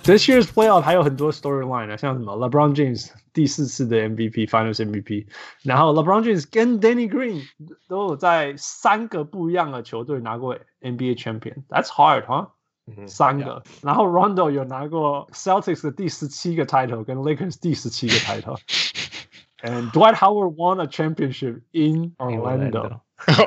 This year's playoff 還有很多 storyline 啊，像什麼 LeBron James 第4次的 MVP Finals MVP， 然後 LeBron James 跟 Danny Green 都有在3個不一樣的球隊拿過 NBA Champion。That's hard, huh? 3個，然後 Rondo 有拿過 Celtics 的第17個 title 跟 Lakers 第17個 title。And Dwight Howard won a championship in Orlando.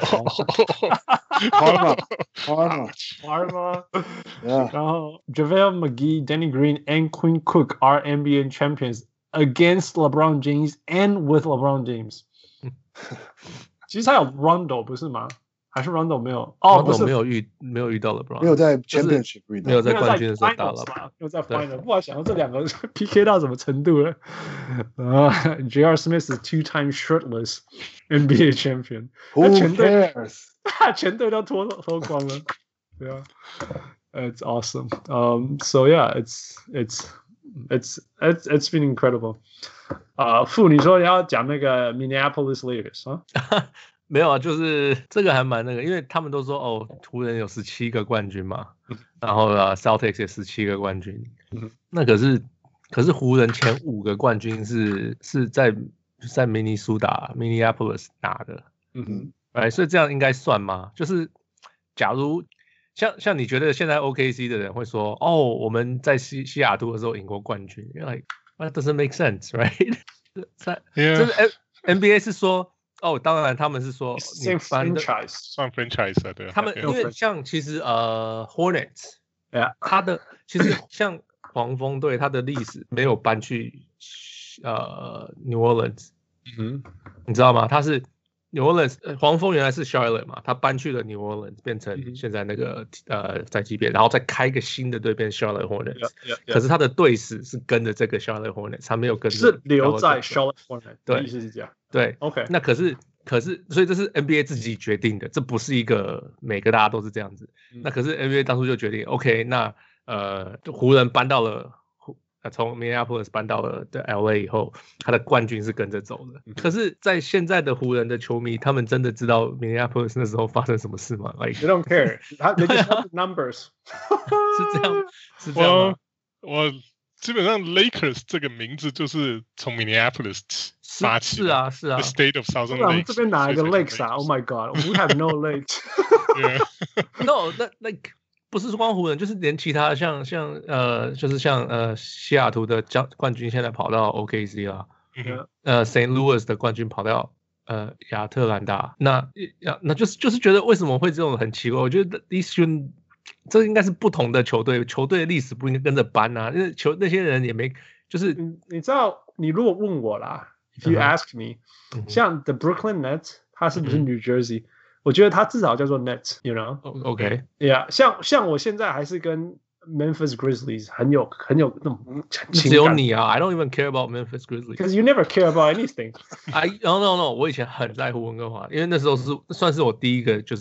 Parma. Yeah. 然後 JaVale McGee, Danny Green, and Quinn Cook are NBA champions against LeBron James and with LeBron James. 其實還有 Rondo 不是嗎？還是 Rondo 沒有？哦，不是， 沒有遇到 LeBron， 沒有在 Championship 遇到， 沒有在冠軍的時候打了， 沒有在 Final。不然想到這兩個 PK 到什麼程度了？J.R. Smith 是 two-time shirtless NBA champion。 Who cares？ 全隊都脫光了，對啊。It's awesome. So yeah, it's been incredible. 傅，你說你要講那個 Minneapolis Lakers 啊？ 沒有啊，就是這個還蠻那個，因為他們都說哦，湖人有17個冠軍嘛，然後Celtics 也17個冠軍，那可是湖人前5個冠軍是在明尼蘇達 Minneapolis 拿的，所以這樣應該算嗎？就是假如像你覺得現在 OKC 的人會說哦，我們在西雅圖的時候贏過冠軍，因為 that doesn't make sense, right？ 就是 NBA 是說。哦，當然，他們是說算 franchise 啊，對。 他们因為像其實Hornets， 他的其實像黃蜂隊，他的歷史沒有搬去New Orleans， 你知道嗎？他是 New Orleans， 黃蜂原來是 Charlotte 嘛，他搬去了 New Orleans， 變成現在那個在基邊，然後再開一個新的隊變 Charlotte Hornets， 可是他的隊史是跟着這個 Charlotte Hornets， 他沒有跟着是留在 Charlotte Hornets， 對， 意思是這樣。 對 ，OK。 那可是，所以這是 NBA 自己決定的，這不是一個每個大家都是這樣子。那可是 NBA 當初就決定 ，OK， 那湖人搬到了從 Minneapolis 搬到了 LA 以後，他的冠軍是跟着走的。可是，在現在的湖人的球迷，他們真的知道 Minneapolis 那時候發生什麼事嗎 ？Like they don't care， they just want numbers 是這樣嗎？ 我基本上 Lakers 這個名字就是從 Minneapolis 發起的， 是啊 The State of Southern Lakes。 我們這邊哪一個 Lakes 啊 ？Oh my God，we have no lakes 。 No， 那 like 不是光湖人，就是連其他就是像西雅圖的冠軍現在跑到 OKC 啦，St. Louis 的冠軍跑到亞特蘭大，那就是覺得為什麼會這種很奇怪？我覺得這應該是不同的球隊的歷史不應該跟着搬啊，因為那些人也沒就是你知道，你如果問我啦 ，If you ask me， 像 The Brooklyn Nets， 它是不是 New Jersey？ 我覺得它至少叫做 Nets，you know？OK，yeah， 像我現在還是跟 Memphis Grizzlies 很有那種情感。 只有你啊 ，I don't even care about Memphis Grizzlies，because you never care about anything。 No， 我以前很在乎溫哥華，因為那時候算是我第一個就是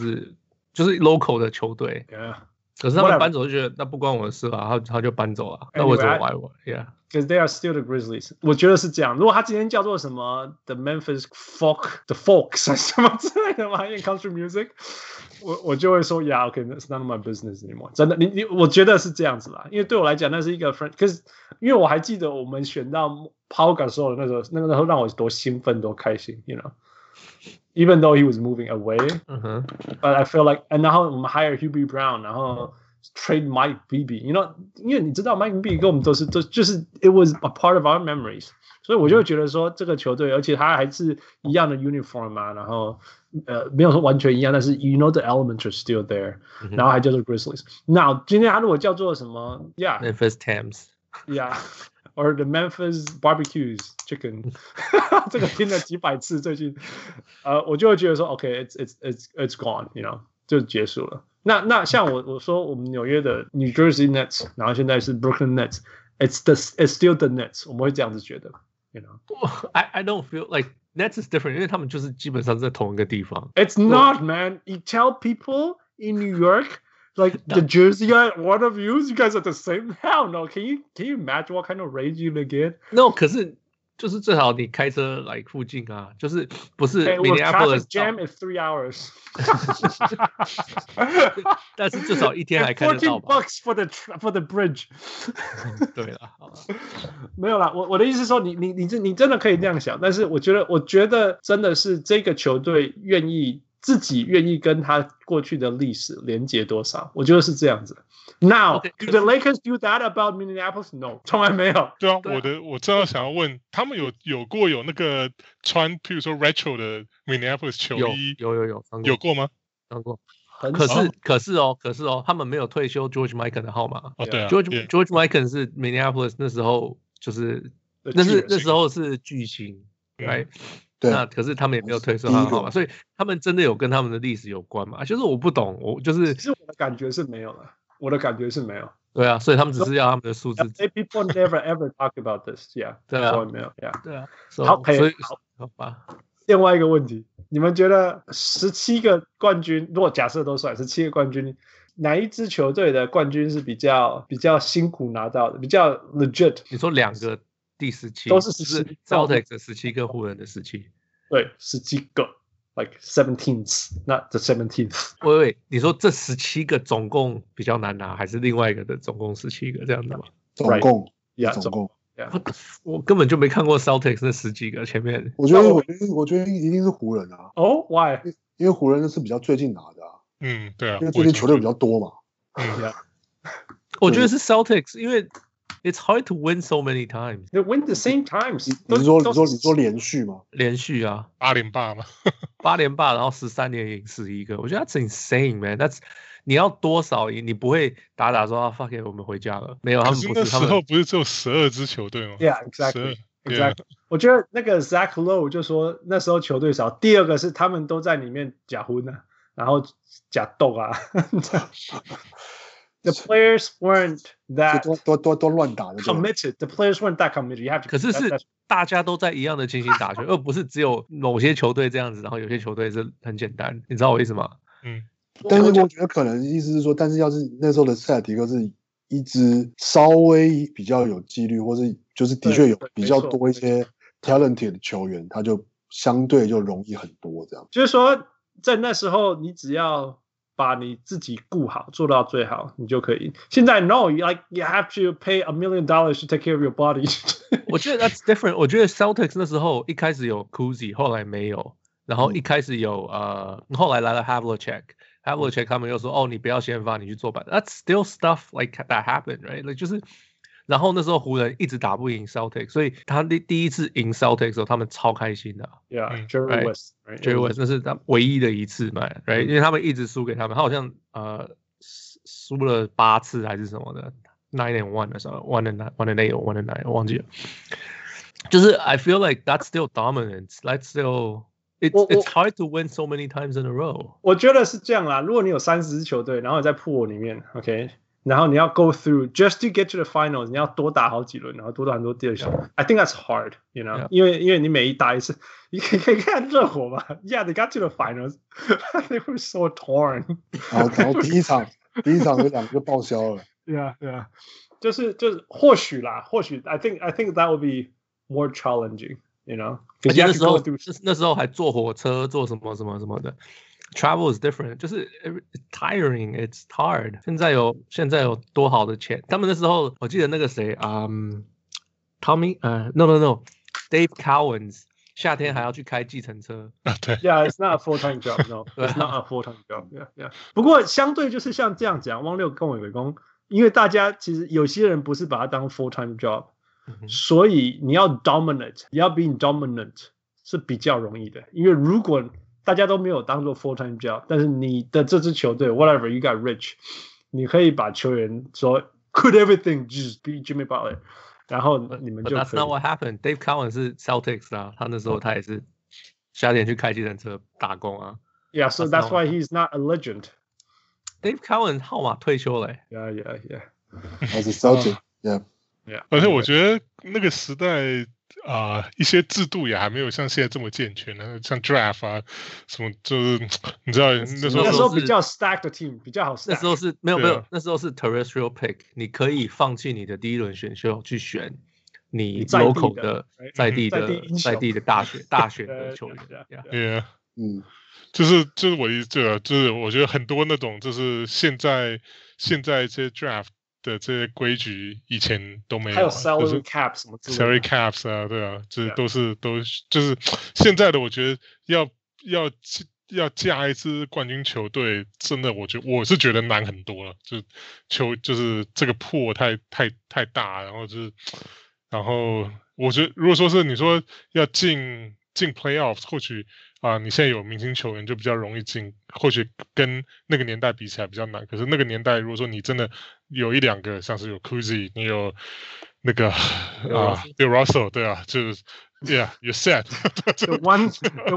local 的球隊。可是他們搬走就覺得那不關我的事啊，他就搬走了。那我怎麼玩我 ？Yeah，because they are still the Grizzlies。我覺得是這樣。如果他今天叫做什麼 The Memphis Folk，The Folks 什麼之類的嘛，因為 country music， 我就會說 Yeah，OK，that's not my business anymore。真的，我覺得是這樣子啦。因為對我來講，那是一個 friend。可是因為我還記得我們選到 Pau Gasol 的那時候讓我多興奮多開心 ，you know。Even though he was moving away, but I feel like， 然後我們 hire Hubie Brown， 然後 trade Mike Bibby，you know， 因為你知道 Mike Bibby 跟我們都就是 it was a part of our memories， 所以我就會覺得說這個球隊，而且他還是一樣的 uniform 啊，然後沒有說完全一樣，但是 you know the elements are still there， 然後還叫做 Grizzlies。那今天他如果叫做什麼 ，Memphis Thames，yeah。Or the Memphis barbecues chicken， 這個聽了幾百次，最近，我就會覺得說 ，OK，it's gone，you know， 就結束了。那像我說我們紐約的 New Jersey Nets， 然後現在是 Brooklyn Nets，it's still the Nets， 我們會這樣子覺得 ，you know。I don't feel like Nets is different， 因為他們就是基本上在同一個地方。 It's not, man. You tell people in New York。Like the Jersey guy, one of you guys are the same. Hell no! Can you imagine what kind of rage you would get? No， 可是就是最好你開車來附近啊，就是不是 Minneapolis jam is 3 hours 但是至少一天還看得到吧。 $14 for the bridge 对了，好了， 沒有啦，我的意思是說，你真的可以這樣想，但是我覺得真的是這個球隊自己願意跟他過去的歷史連接多少，我覺得是這樣子。Now, do the Lakers do that about Minneapolis? No, 從來沒有。 對啊，我正要想要問，他們有過有那個穿，譬如說 retro 的 Minneapolis 球衣，有過嗎？ 穿過。可是哦，他們沒有退休 George Mikan 的號碼。 哦，對啊 ，George Mikan 是 Minneapolis 那時候就是那时候是巨星 ，right？那可是他们也没有退休他的號碼，所以他們真的有跟他們的歷史有關嘛？就是我不懂，其實我的感覺是沒有了。我的感覺是沒有， 對啊，所以他們只是要他們的數字。 People never ever talk about this, yeah. 對啊， 沒有 ，yeah. 對啊。 好， 好吧。 另外一個問題，你們覺得17個冠軍，如果假設都算17個冠軍，哪一支球隊的冠軍是比較辛苦拿到的，比較 legit？ 你說2個第17 都是17 ，Celtics 的17跟湖人的17， 對，17個。Like 17th, not the 17th. 喂，你說這17個總共比較難拿，還是另外一個的總共17個這樣子嗎？ 總共， 總共。 我根本就沒看過 Celtics 那10幾個前面。 我覺得一定是湖人啊。 哦 ，Why？ 因為湖人是比較最近拿的啊。 對啊。 因為最近球队比較多嘛。 我覺得是 Celtics， 因為。It's hard to win so many times. They win the same times. 你說連續嗎？ 連續啊 ，8連霸嘛 ，8連霸，然後13年贏11個，我覺得 that's insane, man. That's 你要多少贏？你不會打說啊 ，fuck it， 我們回家了。沒有，他們不是。 那時候不是只有12支球隊嗎 ？Yeah, exactly. 我覺得那個 Zach Lowe 就說那時候球隊少，第二個是他們都在裡面假婚啊，然後假鬥啊。The players weren't that 都亂打的 committed. The players weren't that committed. You have to. 可是大家都在一樣的情形打球，而不是只有某些球隊這樣子，然後有些球隊是很簡單。你知道我意思嗎？ 但是我覺得可能意思是說，但是要是那時候的塞爾提克是一支稍微比較有紀律，或是就是的確有比較多一些 talented 的球員，他就相對就容易很多這樣。 就是說，在那時候你只要把你自己顧好，做到最好，你就可以。現在 no, you have to pay $1 million to take care of your body 。 我覺得 that's different。我覺得 Celtics 那時候一開始有 Cousy， 後來沒有，然後一開始有後來來了 Havlicek 他們又說你不要先發，你去做板。That's still stuff like that happened, right? Like 就是。然後那時候湖人一直打不贏 Celtics， 所以他第一次贏 Celtics 的時候，他們超開心的。 Yeah, Jerry West, Jerry West 那是他唯一的一次嘛 ，right？ 因為他們一直輸給他們，他好像輸了8次還是什麼的 ，9-1 的時候 1-8 or 1-9， 我忘記了。就是 I feel like that's still dominance, that's still it's hard to win so many times in a row。 我覺得是這樣啦，如果你有30支球隊，然後你在 pool 裡面 ，OK。然後你要 go through just to get to the finals， 你要多打好幾輪，然後多打很多第二球。I think that's hard, you know， 因為你每一打一次，你可以看熱火嘛 ，Yeah, they got to the finals, they were so torn。 然後第一場有2個就報銷了。 Yeah， 就是或許 I think that would be more challenging, you know。 而且那時候還坐火車，坐什麼什麼什麼的。Travel is different， 就是 tiring, it's hard。現在有多好的錢？他們那時候我記得那個誰Tommy no Dave Cowens 夏天還要去開計程車。 對 ，Yeah, it's not a full-time job, no, it's not a full-time job. Yeah. 不過相對就是像這樣講，汪六跟我有講，因為大家其實有些人不是把它當 full-time job，所以你要 dominate， 你要 being dominant 是比較容易的，因為如果大家都沒有當做 full-time job， 但是你的這支球隊 whatever you got rich， 你可以把球員說 quit everything just be Jimmy Butler， 然後你們就可以。 But that's not what happened. Dave Cowens 是 Celtics 啊，他那時候他也是夏天去開計程車打工啊。 Yeah, so that's why he's not a legend. Dave Cowens 號碼退休了。 Yeah. As a Celtic, yeah. 而且我覺得那個時代。一些制度也還沒有像現在這麼健全呢，像 draft 啊什麼，就是你知道那時候比較 stacked 的 team 比較好 stack。 那時候是沒有，那時候是 terrestrial pick， 你可以放棄你的第一輪選秀去選你在地的 local 的在地的大学的球员。 Yeah， 就是我就是我觉得很多那种就是现在这些 draft 的这些規矩以前都没有， 还有 salary cap 什么之类的 salary caps 啊，对啊，这都是就是现在的我覺得要架一支冠軍球隊，真的我是覺得難很多了，就是這個破太大，然後我覺得如果說是你說要進 playoffs， 或許你現在有明星球員就比較容易進，或許跟那個年代比起來比較難。可是那個年代如果說你真的有一兩個，像是有 Cousy， 你有那個Bill Russell， 對啊，就是 Yeah， you're set 。The one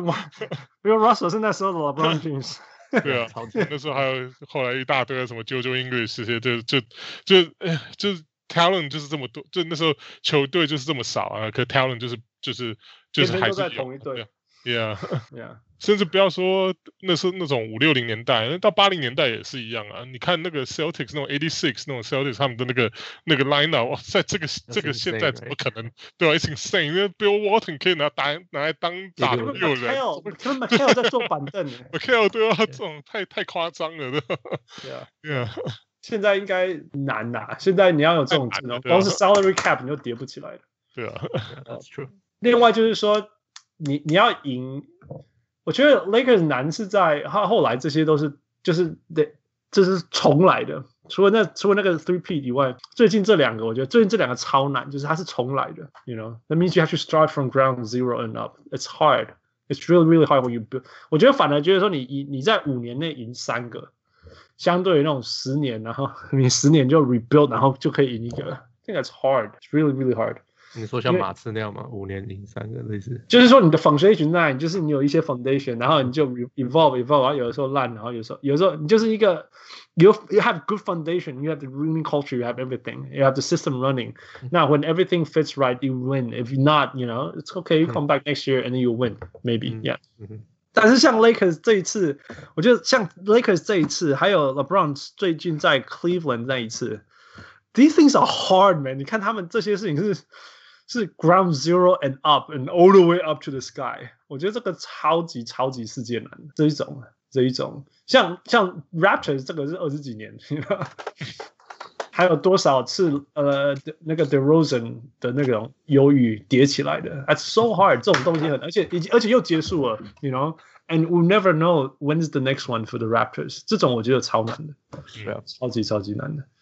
Bill Russell 是那時候的 LeBron James。 對啊，那時候還有後來一大堆什麼 JoJo English 這些，就是 talent 就是這麼多，就那時候球隊就是這麼少啊，可 talent 就是還是有同一隊。 Yeah， 甚至不要說那是那種5、60年代，到80年代也是一樣啊。你看那個 Celtics 那種86那種 Celtics 他們的那個 lineup， 在這個現在怎麼可能？對啊 ，It's insane， 因為 Bill Walton 可以拿來當打的6人。 McHale 在坐板凳。 McHale 對啊，這種太誇張了，對啊。Yeah， 現在應該難啦，現在你要有這種技能，光是 salary cap 你就疊不起來了。 對啊 ，That's true。 另外就是說，你要贏，我覺得 Lakers 難是在他後來這些都是就是重來的，除了那個 3P 以外，最近這兩個我覺得最近這兩個超難，就是它是重來的 ，you know that means you have to start from ground zero and up. It's hard. It's really really hard when you build. 我覺得反而覺得說你在5年內贏3個，相對於那種10年，然後你10年就 rebuild， 然後就可以贏一個 ，I think that's hard. It's really really hard. 你說像馬刺那樣嗎？5年贏3個類似， 就是說你的 foundation 在，就是你有一些 foundation， 然後你就 evolve， 然後有的時候爛，然後有時候你就是一個 you have good foundation， you have the winning culture， you have everything，you have the system running. Now when everything fits right, you win. If not, you know, it's okay. You come back next year and then you win, maybe. Yeah. 但是像 Lakers 這一次，我覺得像 Lakers 這一次，還有 LeBron 最近在 Cleveland 那一次 ，these things are hard, man. 你看他們這些事情是 ground zero and up and all the way up to the sky， 我覺得這個超級世界難，這一種像 Raptors 這個是20幾年，還有多少次那個 DeRozan 的那種憂鬱疊起來的 ，That's so hard， 這種東西而且又結束了 ，you know，and we'll never know when's the next one for the Raptors， 這種我覺得超難的，超級難的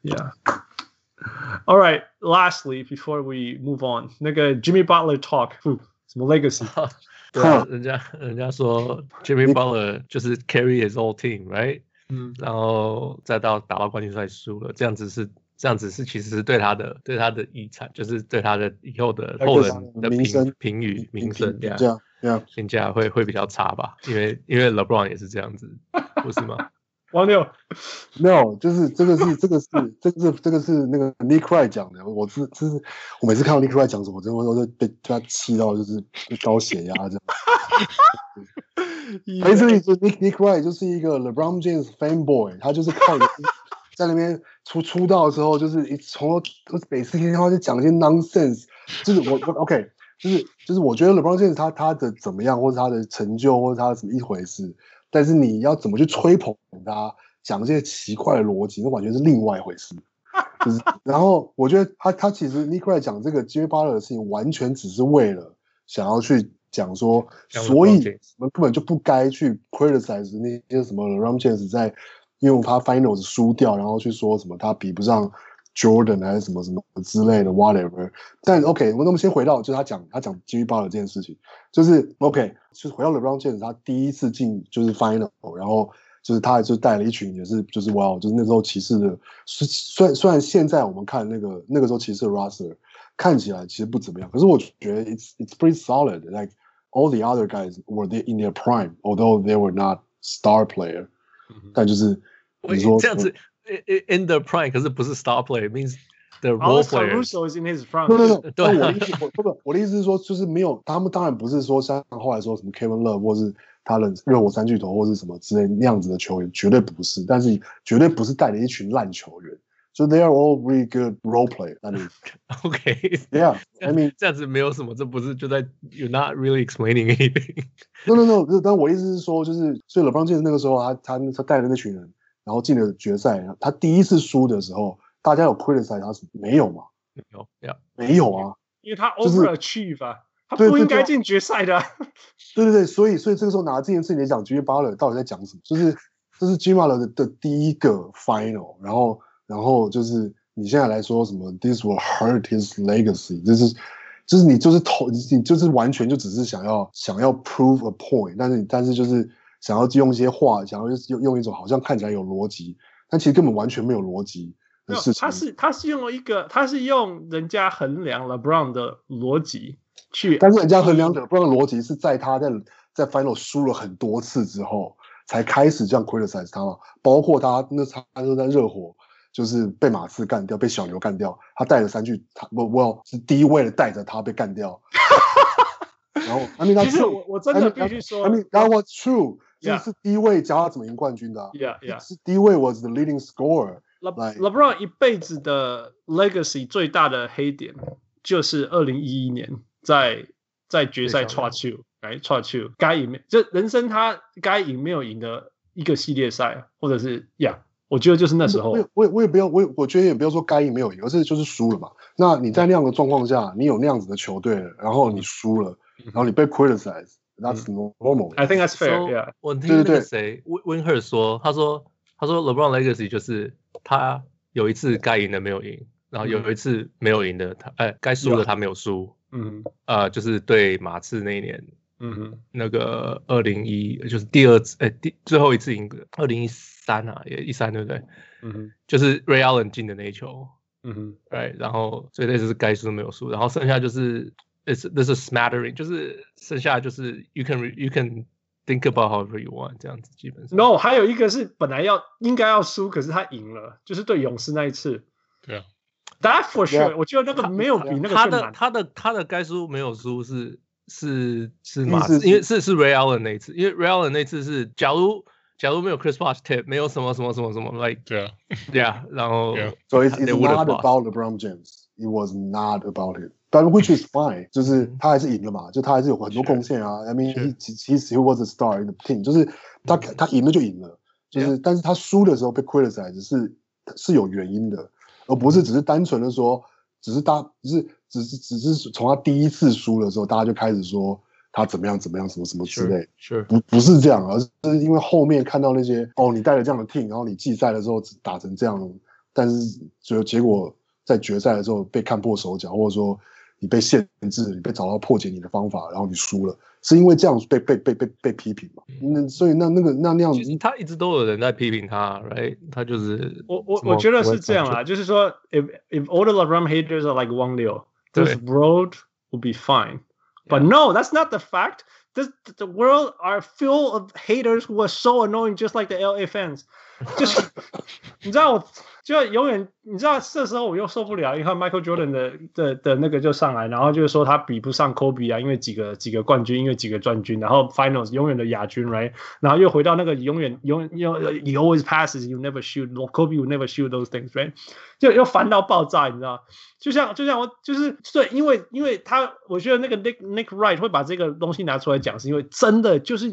，Yeah。All right. Lastly, before we move on, 那個 Jimmy Butler talk， 什麼 legacy？ 對啊，人家說 Jimmy Butler 就是 carry his whole team, right？然後再打到冠軍賽輸了，這樣子是其實是對他的遺產，就是對他的以後的後人的評語名聲評價會比較差吧？因為 LeBron 也是這樣子，不是嗎？ 王六沒有，就是這個是那個 Nick Wright 講的。我每次看到 Nick Wright 講什麼，我真的都被他氣到，就是高血壓這樣。Nick Wright 就是一個 LeBron James fanboy， 他就是靠在那邊出道的時候，就是從每次聽他就講一些 nonsense， 就是我 OK， 就是我覺得 LeBron James 他的怎麼樣，或者他的成就，或者他的什麼一回事。但是你要怎麼去吹捧他，講這些奇怪的邏輯，那完全是另外一回事。就是，然後我覺得他其實 Nick Wright 講這個 Jimmy Butler 的事情，完全只是為了想要去講說，所以我們根本就不該去 criticize 那些什麼 LeBron James 在因為他 Finals 輸掉，然後去說什麼他比不上 Jordan 還是什麼之類的 whatever。但 OK， 我們先回到就是他講 Jimmy Butler 這件事情，就是 OK， 就是回到 LeBron James 他第一次進就是 Final， 然後就是他就帶了一群也是就是哇，就是那时候骑士的，雖然現在我們看那個時候騎士的 roster 看起來其實不怎麼樣，可是我覺得 it's pretty solid. Like all the other guys were in their prime, although they were not star player. 但就是你說這樣子。In the prime， 可是不是 star player， means the role player. Caruso is in his prime. 对，我的意思是说，就是没有他们当然不是說像後來說什麼 Kevin Love 或是他的熱火三巨頭或是什麼之類那樣子的球員，絕對不是，但是絕對不是帶了一群爛球員 So they are all really good role play. I mean, okay, yeah. I mean， 这样子没有什么，这不是就在 you're not really explaining anything. No. 但我意思是说，就是所以 LeBron James 那個時候他帶了那群人，然後進了決賽。他第一次輸的時候，大家有 criticize 他沒有嘛？沒有啊， 因為他 overachieve 啊，他不應該進決賽的、啊。 對，所以這個時候拿這件事情來講 ，Jimmy Butler 到底在講什麼？就是這是 Jimmy Butler 的第一個 final， 然後就是你現在來說什麼 ，this will hurt his legacy， 就是你就是完全就只是想要 prove a point， 但是就是想要用一些話，想要用一種好像看起來有邏輯，但其實根本完全沒有邏輯的事情。 他是用人家衡量 LeBron 的邏輯去， 但是人家衡量 LeBron 的邏輯是在他在 final 輸了很多次之後，才開始這樣 criticize 他嘛，包括他就在熱火。就是被馬刺幹掉，被小牛幹掉，他帶了3句，我是第一位的帶着他被幹掉。然後 I mean， 其實我真的必須說 I mean that was true， 是第一位教他怎麼贏冠軍的、啊。是第一位 was the leading scorer。LeBron 一輩子的 legacy 最大的黑點就是2011年在決賽抓球，抓球該贏，就人生他該贏沒有贏的一個系列賽，或者是我覺得就是那時候， 我也不要，我覺得也不要說該贏沒有贏，而是就是輸了嘛。那你在那樣的狀況下，你有那樣子的球隊了，然後你輸了，然後你被 criticize，that's normal. I think that's fair. 我聽那個誰 Winhurst 說，他說 LeBron legacy 就是他有一次該贏的沒有贏，然後有一次沒有贏的該輸的他沒有輸。就是對馬刺那一年。那個2011就是第二次，最後一次贏的2013啊，也13對不對？就是 Ray Allen 進的那一球，right， 然後所以那次該輸沒有輸，然後剩下就是 this is smattering， 就是剩下就是 you can think about however you want 這樣子基本上。 No， 還有一個是本來應該要輸，可是他贏了，就是對勇士那一次。 對啊 ，That for sure， 我覺得那個沒有比那個更難。 他的該輸沒有輸是馬刺，因為是 Ray Allen 那一次，因為 Ray Allen 那一次是假如沒有 Chris Bosh tip， 沒有什麼 like 對啊，然後 so it's not about LeBron James, it was not about it, but which is fine， 就是他還是贏了嘛，就他還是有很多貢獻啊。I mean he was a star in the team， 就是他贏了就贏了，就是但是他輸的時候被 criticize 是有原因的，而不是只是單純的說。只是從他第一次輸的時候，大家就開始說他怎麼樣什麼之類，不是這樣，而是因為後面看到那些你帶了這樣的 team， 然後你季賽的時候打成這樣，但是結果在決賽的時候被看破手腳，或者說你被限制，你被找到破解你的方法，然後你輸了，是因為這樣被批評嘛？所以那樣子， 其實他一直都有人在批評他 ，right？ 他就是我覺得是這樣啦，就是說 if all the LeBron haters are like Wang Liu, this world will be fine. But no, that's not the fact. The world are full of haters who are so annoying, just like the LA fans. 就是你知道我就永遠你知道這時候我又受不了，你看 Michael Jordan 的那個就上來，然後就是說他比不上 Kobe 啊，因為幾個冠軍，因為幾個冠軍，然後 Finals 永遠的亞軍 ，right？ 然後又回到那個永遠 he always passes, you never shoot, Kobe would never shoot those things, right？ 就又煩到爆炸，你知道？就像我就是對，因為他我覺得那個 Nick Wright 會把這個東西拿出來講，是因為真的就是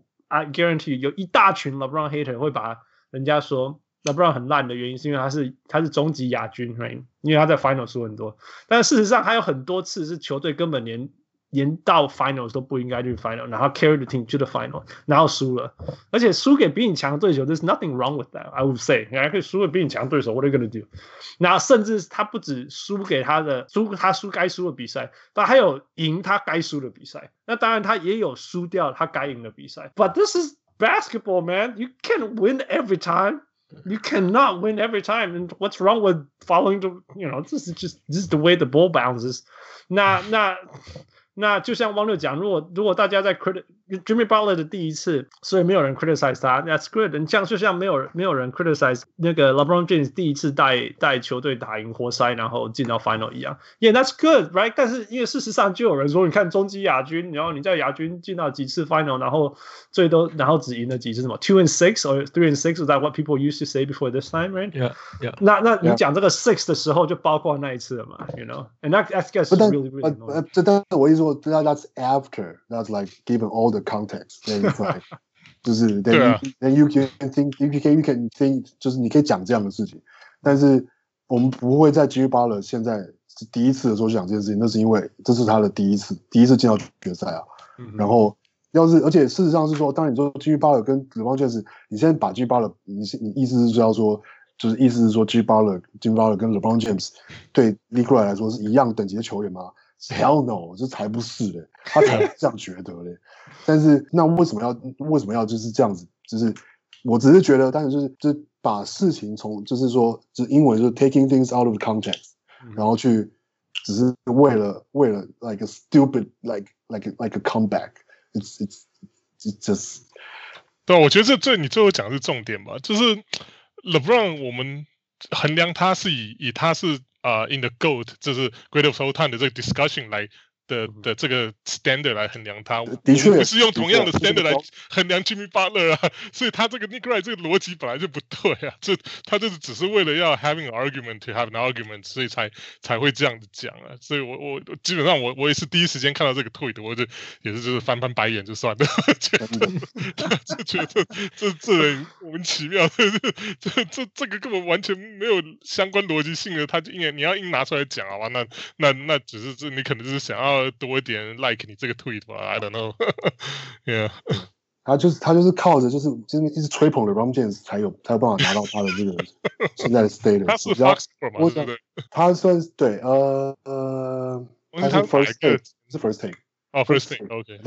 I guarantee 有一大群 LeBron hater 會把人家說 LeBron 很爛的原因是因為他是終極亞軍 ，right？ 因為他在 Finals 輸很多，但事實上還有很多次是球隊根本連到 Finals 都不應該去 Finals， 然後 carry the team to the Final， 然後輸了，而且輸給比你強的對手 ，there's nothing wrong with that，I would say， 你還可以輸給比你強的對手 ，what are you gonna do？ 然後甚至他不止輸給他輸該輸的比賽，他還有贏他該輸的比賽，那當然他也有輸掉他該贏的比賽 ，but this is basketball, man. You can't win every time. You cannot win every time. And what's wrong with following the, this is the way the ball bounces. 那就像汪六講，如果大家在 Jimmy Butler 的第一次，所以没有人 criticize 他 ，That's good。这樣就像没有人 criticize 那個 LeBron James 第一次帶球隊打贏活塞，然後進到 final 一樣。Yeah, that's good, right？ 但是因為事實上就有人說，你看中繼亞軍，然後你在亞軍進到幾次 final， 然後最多然後只贏了幾次什麼 2-6 or 3-6 ？Was that what people used to say before this time, right? Yeah. 那你講這個 6 的時候就包括那一次了嘛 ？You know, and that gets really annoying. 但是我意思說 ，that's after, that's like given all the context. Then it's like 就是 then you can think 就是你可以講這樣的事情，但是我們不會在 Jimmy Butler 現在是第一次的時候就講這件事情，那是因為這是他的第一次進到決賽啊。然後而且事實上是說，當你說 Jimmy Butler 跟 LeBron James， 你現在把 Jimmy Butler， 你意思是要說，就是意思是說 Jimmy Butler 跟 LeBron James 對 Nikolai 來說是一樣等級的球員嗎？Hell no， 這才不是嘞，他才這樣覺得嘞。但是那為什麼要就是這樣子？就是我只是覺得，但是就是把事情從就是說，就是英文就是 taking things out of context，然後去只是為了 like a stupid like a comeback，it's just。 对，我觉得这你最後講的是重點吧，就是 LeBron 我們衡量他是以他是in the GOAT 就是 Great of All Time 的這個 discussion 來的這個 standard 來衡量他， 的確不是用同樣的 standard 來衡量 Jimmy Butler 啊，所以他這個 Nick Wright 這個邏輯本來就不對啊，他就是只是為了要 having an argument to have an argument， 所以才會這樣子講啊，所以我基本上我也是第一時間看到這個 tweet， 我就也是就是翻白眼就算了，就覺得這人莫名其妙，這個根本完全沒有相關邏輯性的，他就你要硬拿出來講好吧，那只是你可能就是想要多一點 like 你這個 tweet 吧 ，I don't know 。Yeah， 他就是靠着就是一直吹捧 LeBron James 才有辦法拿到他的這個現在的 status。 他是 Fox 嘛，對不對？ 他算是對他是 first take， 是 first take。 哦 ，first take，OK，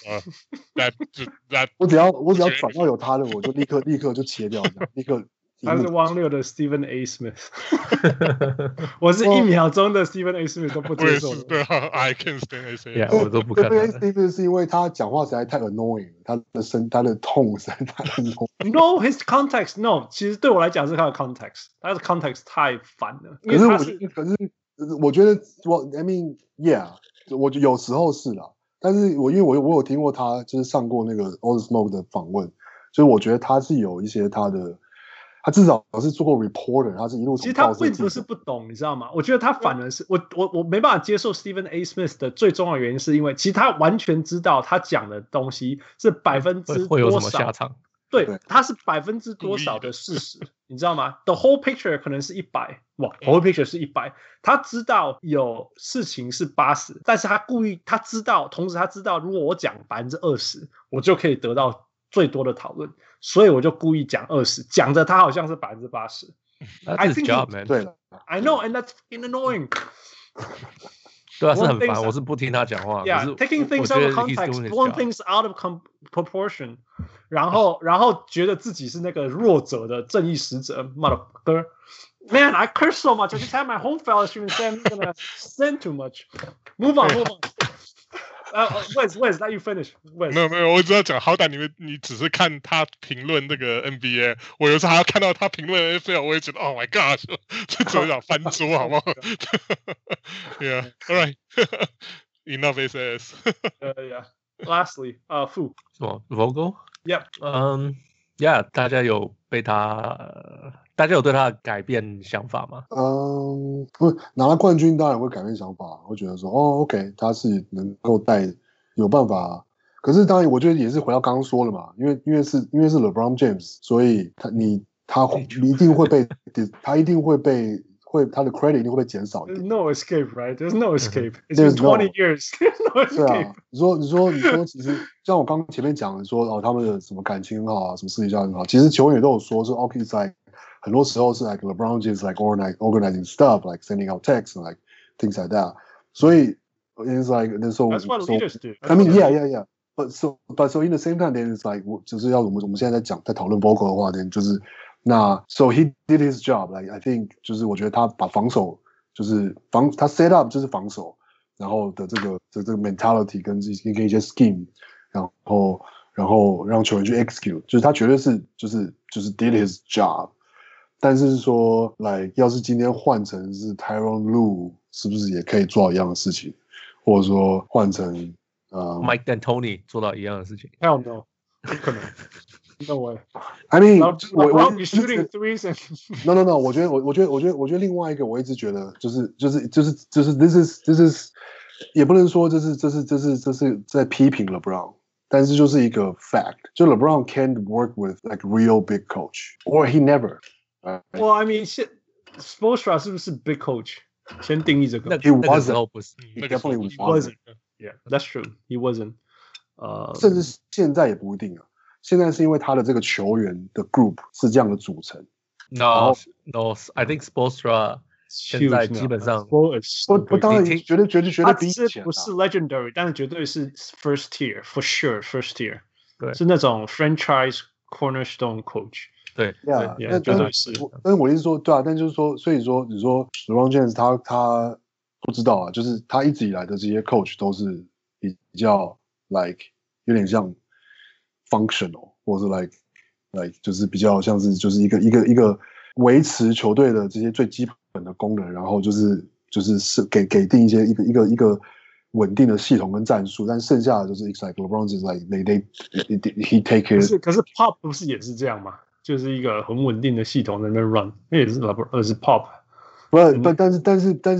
我只要轉到有他的，我就立刻就切掉，立刻。 他是汪六的 Stephen A. Smith， 我是1秒鐘的 Stephen A. Smith 都不接受的。 對 ，I can't stand A. Smith， 我都不看。 Stephen A. Smith 是因為他講話實在太 annoying， 他的 tone 實在太 annoying。No, his context, no， 其實對我來講是他的 context， 他的 context 太煩了。 可是我覺得I mean yeah， 我有時候是啦，但是因為我有聽過他就是上過那個 All the Smoke 的訪問，所以我覺得他是有一些他至少是做過 reporter， 他是一路從。 其實他並不是不懂，你知道嗎？我覺得他反而是我沒辦法接受 Stephen A. Smith 的最重要的原因，是因為其實他完全知道他講的東西是% 會有什麼下場。 對，他是%多少的事實，你知道嗎 ？The whole picture 可能是100，哇 ，whole picture 是100，他知道有事情是80，但是他故意，他知道，同時他知道，如果我講20%，我就可以得到最多的討論。所以我就故意講20，講着他好像是80%。 That's his job, man. 對 I know, and that's annoying. 對啊，是很煩，我是不聽他講話。 Yeah, taking things out of context, blowing things out of proportion. 然後覺得自己是那個弱者的正義使者 ，motherfucker. Man, I curse so much. I just had my home fellowship and said I'm gonna sin too much. Move on. Wes, let you finish. 沒有，我只要講，好歹你只是看他評論那個 NBA， 我有時候還要看到他評論 NFL， 我也覺得 Oh my God， 這怎麼講翻桌好不好？Yeah, all right. Enough SS. Yeah. Lastly, Fu. 什麼 Vogel? Yep. Yeah， 大家有对他的改變想法嗎？ 不，拿了冠軍當然會改變想法，會覺得說OK， 他是能夠有辦法。可是當然，我覺得也是回到剛剛說了嘛，因為是 LeBron James， 所以他一定會被他的 credit 一定會被減少一點。 There's no escape, right? There's no escape. It's been 20 years. There's no escape. 對啊，你說，其實像我剛前面講的說他們的什麼感情很好啊，什麼私底下很好，其實球員也都有說OK， 在很多時候是 like LeBron James like organizing stuff, like sending out texts and like things like that. 所以 it's like that's what leaders do. I mean, yeah. But so in the same time, then it's like 就是要我們現在在討論 Vogel 的話，then 就是那 so he did his job. Like I think 就是我覺得他把防守就是他 set up 就是防守，然後的這個 mentality 跟一些 scheme， 然後讓球員去 execute， 就是他絕對是就是 did his job。但是說來，要是今天換成是 Tyronn Lue， 是不是也可以做到一樣的事情？或者說換成 Mike D'Antoni 做到一樣的事情 ？Hell no， 不可能。No way. I mean， 我 be shooting threes and no， 我觉得另外一個，我一直覺得就是 this is 也不能說這是在批評 LeBron， 但是就是一個 fact， 就 LeBron can't work with like real big coach or he never。Well, I mean, Spoelstra 是不是 big coach？ 先定義這個。 He wasn't. 時候不是 He definitely wasn't. Yeah, that's true. He wasn't. 甚至現在也不一定啊。現在是因為他的這個球員的 group 是這樣的組成。 No, I think Spoelstra 現在基本上我當然絕對比以前不是 legendary， 但是絕對是 first tier for sure first tier， 對， 是那種 franchise cornerstone coach。 对， 那绝对是。 但是我意思说，对啊，但就是说，所以說你說 LeBron James 他不知道啊，就是他一直以來的这些 coach 都是比較 like 有點像 functional， 或者是 like 就是比較像是就是一個維持球隊的這些最基本的功能，然後就是給定一些一個穩定的系統跟戰術，但剩下的就是 like LeBron is like he take it。 可是 Pop 不是也是這樣嗎？就是一個很穩定的系統在那邊 run， 那也是 LeBron， 是 Pop。 不，但是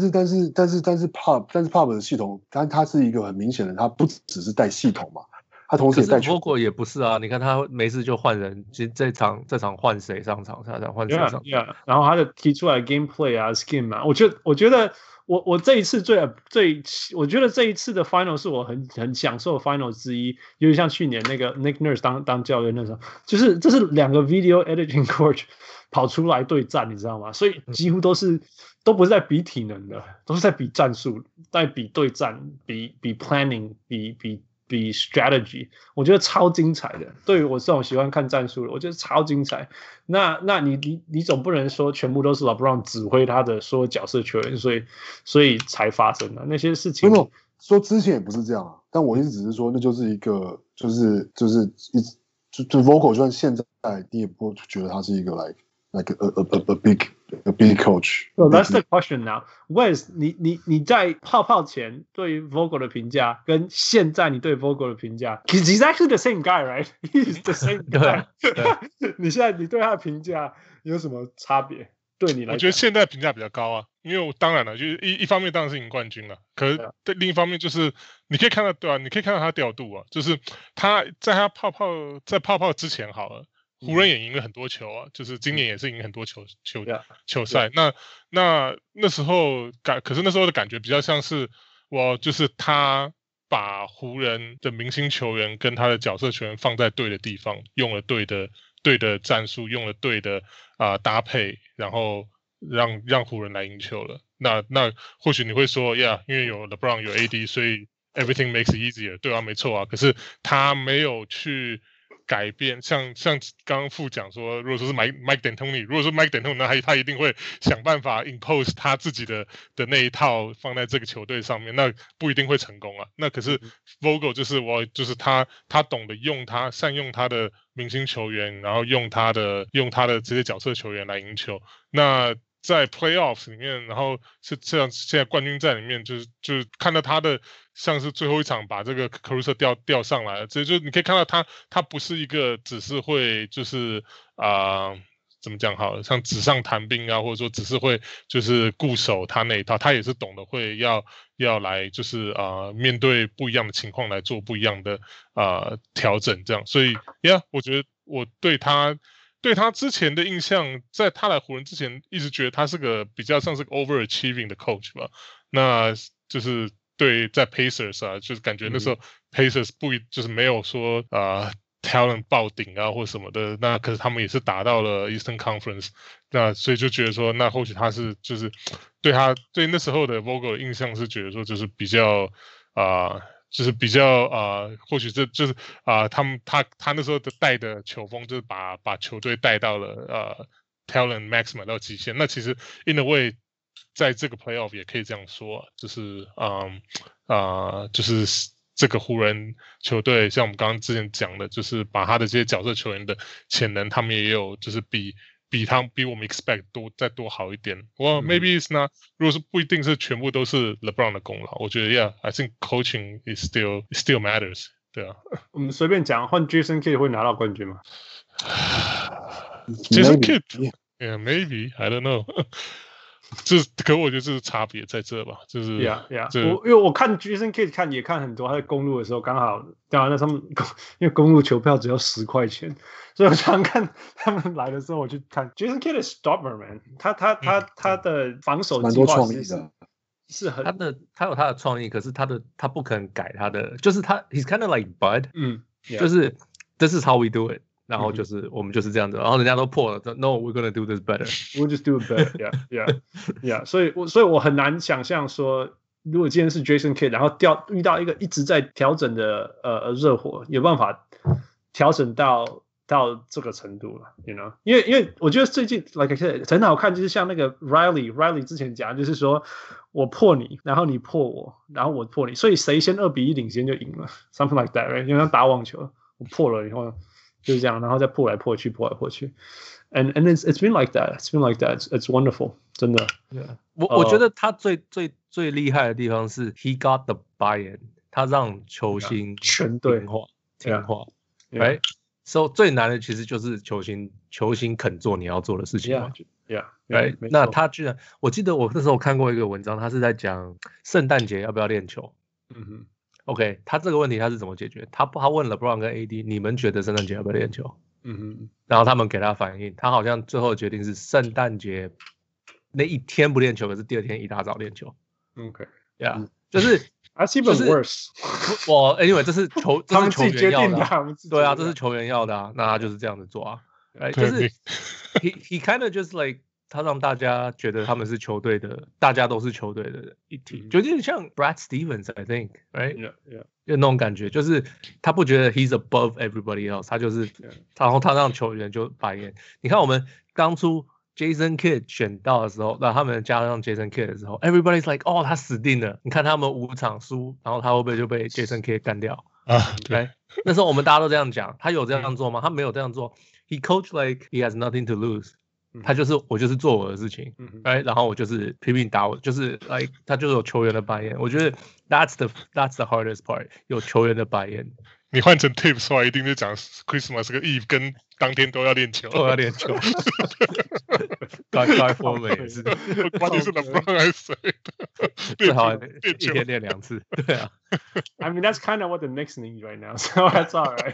Pop 的系統，它是一個很明顯的，它不只是帶系統嘛，他同時也帶球。 Vogel 也不是啊，你看他沒事就換人，其實這場換誰上場，下場換誰上場。 Yeah, 然後他的提出來 gameplay 啊 ，scheme 啊，我覺得我這一次我覺得這一次的 final 是我很享受的 final 之一，有點像去年那個 Nick Nurse 當教練那時候，就是這是兩個 video editing coach 跑出來對戰，你知道嗎？所以幾乎都不是在比體能的，都是在比戰術，在比對戰，比 planning， 比 strategy， 我覺得超精彩的。對於我這種喜歡看戰術的，我覺得超精彩。那你總不能說全部都是 LeBron 指揮他的所有角色球員，所以才發生的那些事情。 沒有說之前也不是這樣啊，但我意思只是說，那就是一個就 Vogel 就算現在你也不會覺得他是一個 like a big coach. So that's the question now. Wes， 你在泡前對於 Vogel 的評價，跟現在你對 Vogel 的評價 ，he's actually the same guy, right? He's the same guy. 你現在你對他的評價有什麼差別？對你來講， 我覺得現在評價比較高啊，因為我當然了，就是一方面當然是贏冠軍了，可是對另一方面就是你可以看到，對啊，你可以看到他調度啊，就是他在他泡之前好了。湖人也贏了很多球啊，就是今年也是贏很多球賽。那時候可是那時候的感覺比較像是就是他把湖人的明星球員跟他的角色球員放在對的地方，用了对的戰術，用了對的搭配，然後讓湖人來贏球了。那或許你會說，Yeah， 因為有 LeBron 有 AD， 所以 everything makes it easier。對啊，沒錯啊。可是他沒有去改變，像剛剛副講說，如果說是 Mike D'Antoni， 如果說 Mike D'Antoni， 那他一定會想辦法 impose 他自己的那一套放在這個球隊上面，那不一定會成功啊。那可是 Vogel 就是他懂得善用他的明星球員，然後用他的這些角色球員來贏球。那在 playoffs 裡面，然後是這樣，現在冠軍戰裡面就是看到他的像是最後一場把這個 Caruso 調上來了，這就你可以看到他不是一個只是會就是怎麼講好了，像紙上談兵啊，或者說只是會就是固守他那一套，他也是懂得會要來就是面對不一樣的情況來做不一樣的調整，這樣。所以我覺得我對他之前的印象，在他來湖人之前，一直覺得他是個比較像是個 overachieving 的 coach 吧。那就是對在 Pacers 啊，就是感覺那時候 Pacers 就是沒有說talent 爆頂啊或什麼的。那可是他們也是打到了 Eastern Conference， 那所以就覺得說，那或許他是就是對那時候的 Vogel 的印象是覺得說，就是比較就是比較或許這就是他那時候的帶的球風，就是把球隊帶到了talent maximum 到極限。那其實 in a way 在這個 playoff 也可以這樣說，就是就是這個湖人球隊，像我們剛剛之前講的，就是把他的這些角色球員的潛能，他們也有就是比我們 expect 再多好一點。Well, maybe it's not，如果是不一定是全部都是 LeBron 的功勞，我覺得 I think coaching is still matters。对啊， 我们隨便講，換 Jason Kidd 會拿到冠軍嗎 ？Jason Kidd，yeah, maybe I don't know 。可我覺得這是差別在這吧，就是 ，Yeah， 因為我看 Jason Kidd 也看很多，他在公路的時候剛好，當然那他們因為公路球票只要10塊錢，所以我常看他們來的時候我去看 Jason Kidd is stubborn man， 他的防守計劃是很他有他的創意，可是他不肯改他的，就是他 he's kind of like Bud， 就是 this is how we do it。然後就是我們就是這樣子，然後人家都破了 ，No, we're gonna do this better. We'll just do it better. Yeah. 所以我很難想象說，如果今天是 Jason Kidd， 然後遇到一個一直在調整的熱火，有辦法調整到這個程度了 ，you know？ 因為我覺得最近 like I said 很好看，就是像那個 Riley 之前講，就是說我破你，然後你破我，然後我破你，所以誰先2-1領先就贏了 ，something like that, right？ 因為像打網球，我破了以後。就是這樣，然後再破來破去，and it's been like that. It's been like that. It's wonderful. 真的。 Yeah. 我覺得他最厲害的地方是 he got the buy-in， 他讓球星全隊聽話 ，right？ So 最難的其實就是球星肯做你要做的事情。 Right？ 那他居然，我記得我那時候看過一個文章，他是在講聖誕節要不要練球。OK， 他這個問題他是怎麼解決？他問 LeBron 跟 AD， 你們覺得聖誕節要不要練球？然後他們給他反應，他好像最後決定是聖誕節那一天不練球，可是第二天一大早練球。OK，yeah， 就是 That's even worse。 我 anyway， 這是球員要的， 對啊，這是球員要的啊，那他就是這樣子做啊，就是 he kind of just like。他讓大家覺得他們是球隊的，大家都是球隊的一體，就有點像 Brad Stevens，I think， right？ 有那種感覺，就是他不覺得 he's above everybody else， 他就是，然後他讓球員就白眼。你看我們當初 Jason Kidd 選到的時候，那他們加上 Jason Kidd 的時候 ，everybody's like， 哦，他死定了。你看他們5場輸，然後他會不會就被 Jason Kidd 幹掉？對，那時候我們大家都這樣講，他有這樣做嗎？他沒有這樣做。He coached like he has nothing to lose。我就是做我的事情，然後我就是拼命打我，就是like 他就是有球員的白眼，我觉得 that's the hardest part， 有球員的白眼。 你換成 Tips 的話，一定是講 Christmas 跟 Eve 跟當天都要練球， 該form 也是， 關鍵是 LeBron 還是誰的？ 最好一天練2次，對啊。 I mean that's kind of what the Knicks need right now, so that's all right.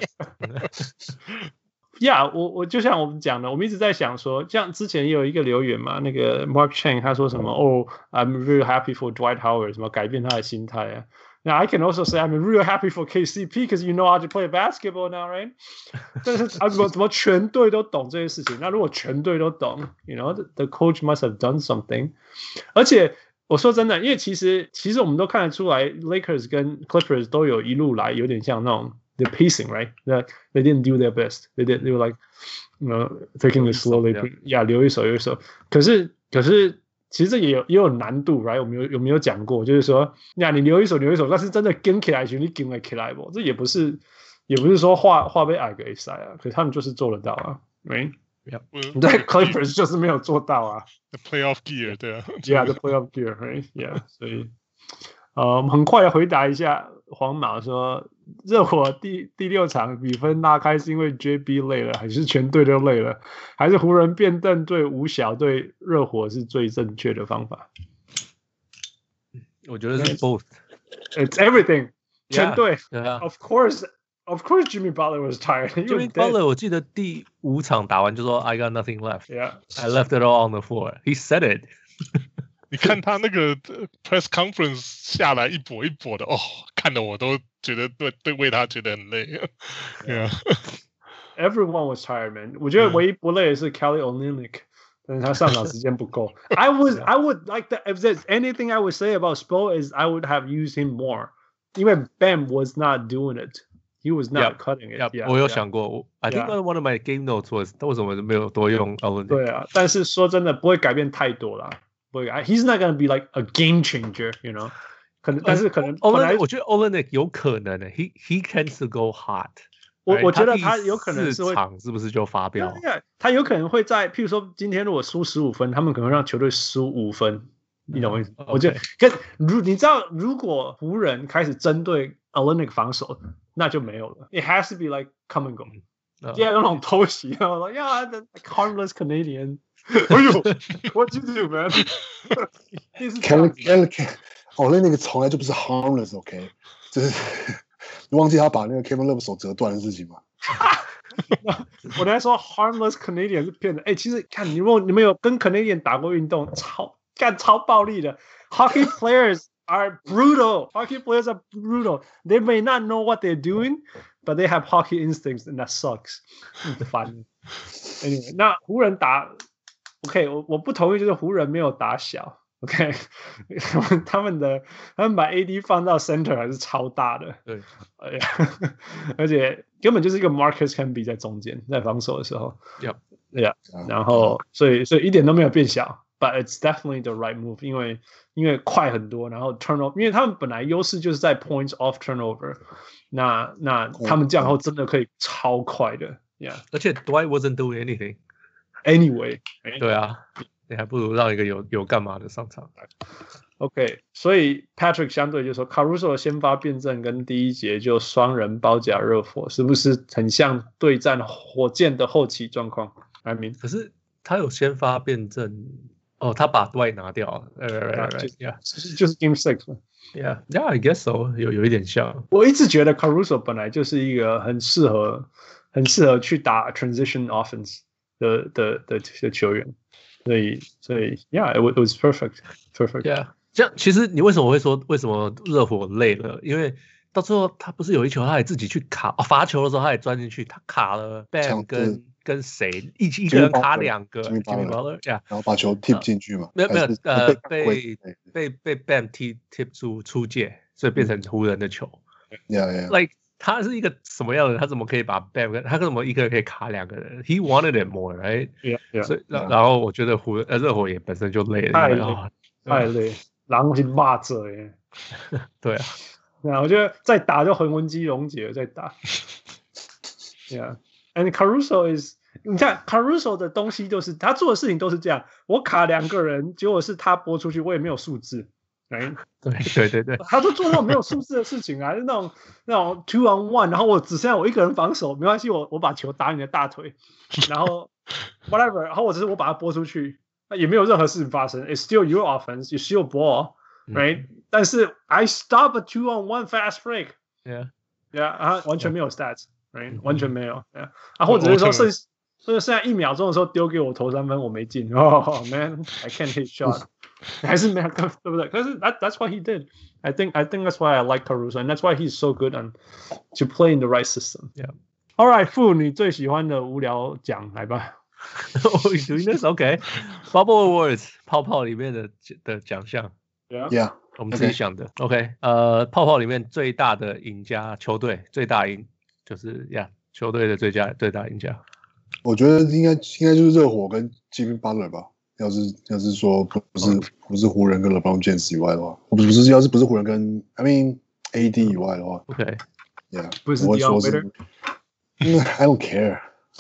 Yeah， 我就像我們講的，我們一直在想說，像之前也有一個留言嘛，那個 Mark Chang 他說什麼I'm really happy for Dwight Howard， 什麼改變他的心態啊。Now I can also say I'm really happy for KCP because you know how to play basketball now, right？ 但是怎麼全隊都懂這些事情？那如果全隊都懂 ，you know the coach must have done something。而且我說真的，因為其實我們都看得出來 ，Lakers 跟 Clippers 都有一路來有點像那種。The pacing, right? That they didn't do their best. They were like, you know, taking it slowly. Yeah, 留一手。可是，其實這也有難度 ，right？ 我們有沒有講過？就是說，呀，你留一手，但是真的跟起來，你跟起來不？這也不是說話被矮個賽啊。可是他們就是做得到啊 ，right？ 你在 Clippers 就是沒有做到啊。 The playoff gear， 對啊。 Yeah, the playoff gear, right? Yeah， 所以。我們很快的回答一下黃毛說，熱火第6場比分拉開是因為 JB 累了，還是全隊都累了，還是湖人變凳對5小對熱火是最正確的方法？ 我覺得是 both. It's everything. 全隊 Of course Jimmy Butler was tired. Jimmy Butler 我記得第5場打完就說 I got nothing left. Yeah. I left it all on the floor. He said it. 你看他那個 press conference 下來一跛一跛的，看得我都覺得對為他覺得很累。Yeah. Everyone was tired, man. 我覺得唯一不累的是 Kelly Olynyk， 但是他上場時間不夠。I would like that. If there's anything I would say about Spo is I would have used him more， 因為 Bam was not doing it. He was not cutting it. Yeah, 我有想過 I think one of my game notes was 為什麼沒有多用 Olynyk？ 對啊，但是說真的不會改變太多啦。He's not going to be like a game changer, you know. 可能，但是可能本來我觉得 Olynyk 有可能的 ，he tends to go hot。 我觉得他有可能是会场是不是就发飙？ 他有可能会在，譬如说今天如果輸15分，他們可能會讓球隊輸5分，你懂我意思？我覺得你知道，如果湖人開始針對 Olynyk 防守，那就沒有了。It has to be like come and go。Yeah， 那種偷襲，然後 Yeah， the harmless Canadian。哎呦 ，What you do, man？ Olynyk 從來就不是 harmless，OK， 就是你忘記他把那個 Kevin Love 手折斷的事情嗎？ 我在說 harmless Canadian 是騙的。其實看你們有跟 Canadian 打過運動，超暴力的。Hockey players are brutal. Hockey players are brutal. They may not know what they're doing, but they have hockey instincts, and that sucks. 煩。Anyway， 那湖人打 ，OK， 我不同意，就是湖人沒有打小。OK， 他們把 AD 放到 center 還是超大的， 對， 而且根本就是一個 Marcus Camby 在中間，在防守的時候 ，Yeah， 然後所以一點都沒有變小 ，but it's definitely the right move， 因為快很多，然後 turnover， 因為他們本來優勢就是在 points off turnover， 那他們這樣後真的可以超快的 ，Yeah， 而且 Dwight wasn't doing anything anyway， 對啊。你還不如讓一個有幹嘛的上場。 OK， 所以 Patrick 相對就說 Caruso 的先發辯證跟第一節就雙人包夾熱火，是不是很像對戰火箭的後期狀況 ？I mean， 可是他有先發辯證哦，他把 Dwight 拿掉了， 就是 Game 6嘛。 Yeah, I guess so， 有一點像。 我一直覺得 Caruso 本來就是一個很適合去打 transition offense 的球員。所以 ，Yeah， it was perfect. Yeah， 這樣其實你為什麼會說為什麼熱火累了？因為到最後他不是有一球他也自己去卡，罰球的時候他也鑽進去，他卡了 Bam 跟誰一個人卡2個 Jimmy Butler， 然後把球 tip 進去嘛？ 沒有被 Bam tip 出界，所以變成湖人的球。Like 他是一個什麼樣的人？他怎麼可以把 Bam 他怎麼一個人可以卡2個人 ？He wanted it more, right? Yeah. 所以然後我覺得熱火也本身就累了， 太累，狼是罵着耶。 對啊， 我覺得再打就魂肌溶解了，再打。Yeah, and Caruso is， 你看 Caruso 的東西就是他做的事情都是這樣，我卡2個人，結果是他撥出去，我也沒有數字。Right? 對， 他都做那種沒有數字的事情啊，那種 2 on 1， 然後我只剩下我一個人防守，沒關係，我把球打你的大腿，然後 whatever， 然後我把它撥出去，也沒有任何事情發生。It's still your offense, you still ball, right？、但是 I stop a 2 on 1 fast break，yeah， 完全沒有 stats，right？ 完全沒有，或者是說剩下1秒鐘的時候丟給我投3分，我沒進。Oh man, I can't hit shot。還是沒有，對不對？可是 that's what he did. I think that's why I like Caruso, and that's why he's so good to play in the right system. Yeah. All right, Fu， 你最喜歡的無聊獎來吧。 Doing this, okay. Bubble Awards 泡泡裡面的獎項。 Yeah. 我們自己想的。OK， 泡泡裡面最大的贏家球隊最大贏就是球隊的最大贏家。 我覺得應該就是熱火跟 Jimmy Butler 吧。要是說不是湖人跟 LeBron James 以外的話，要是不是湖人跟 I mean AD 以外的話 ，OK， yeah， 不是 Dion Waiter， I don't care。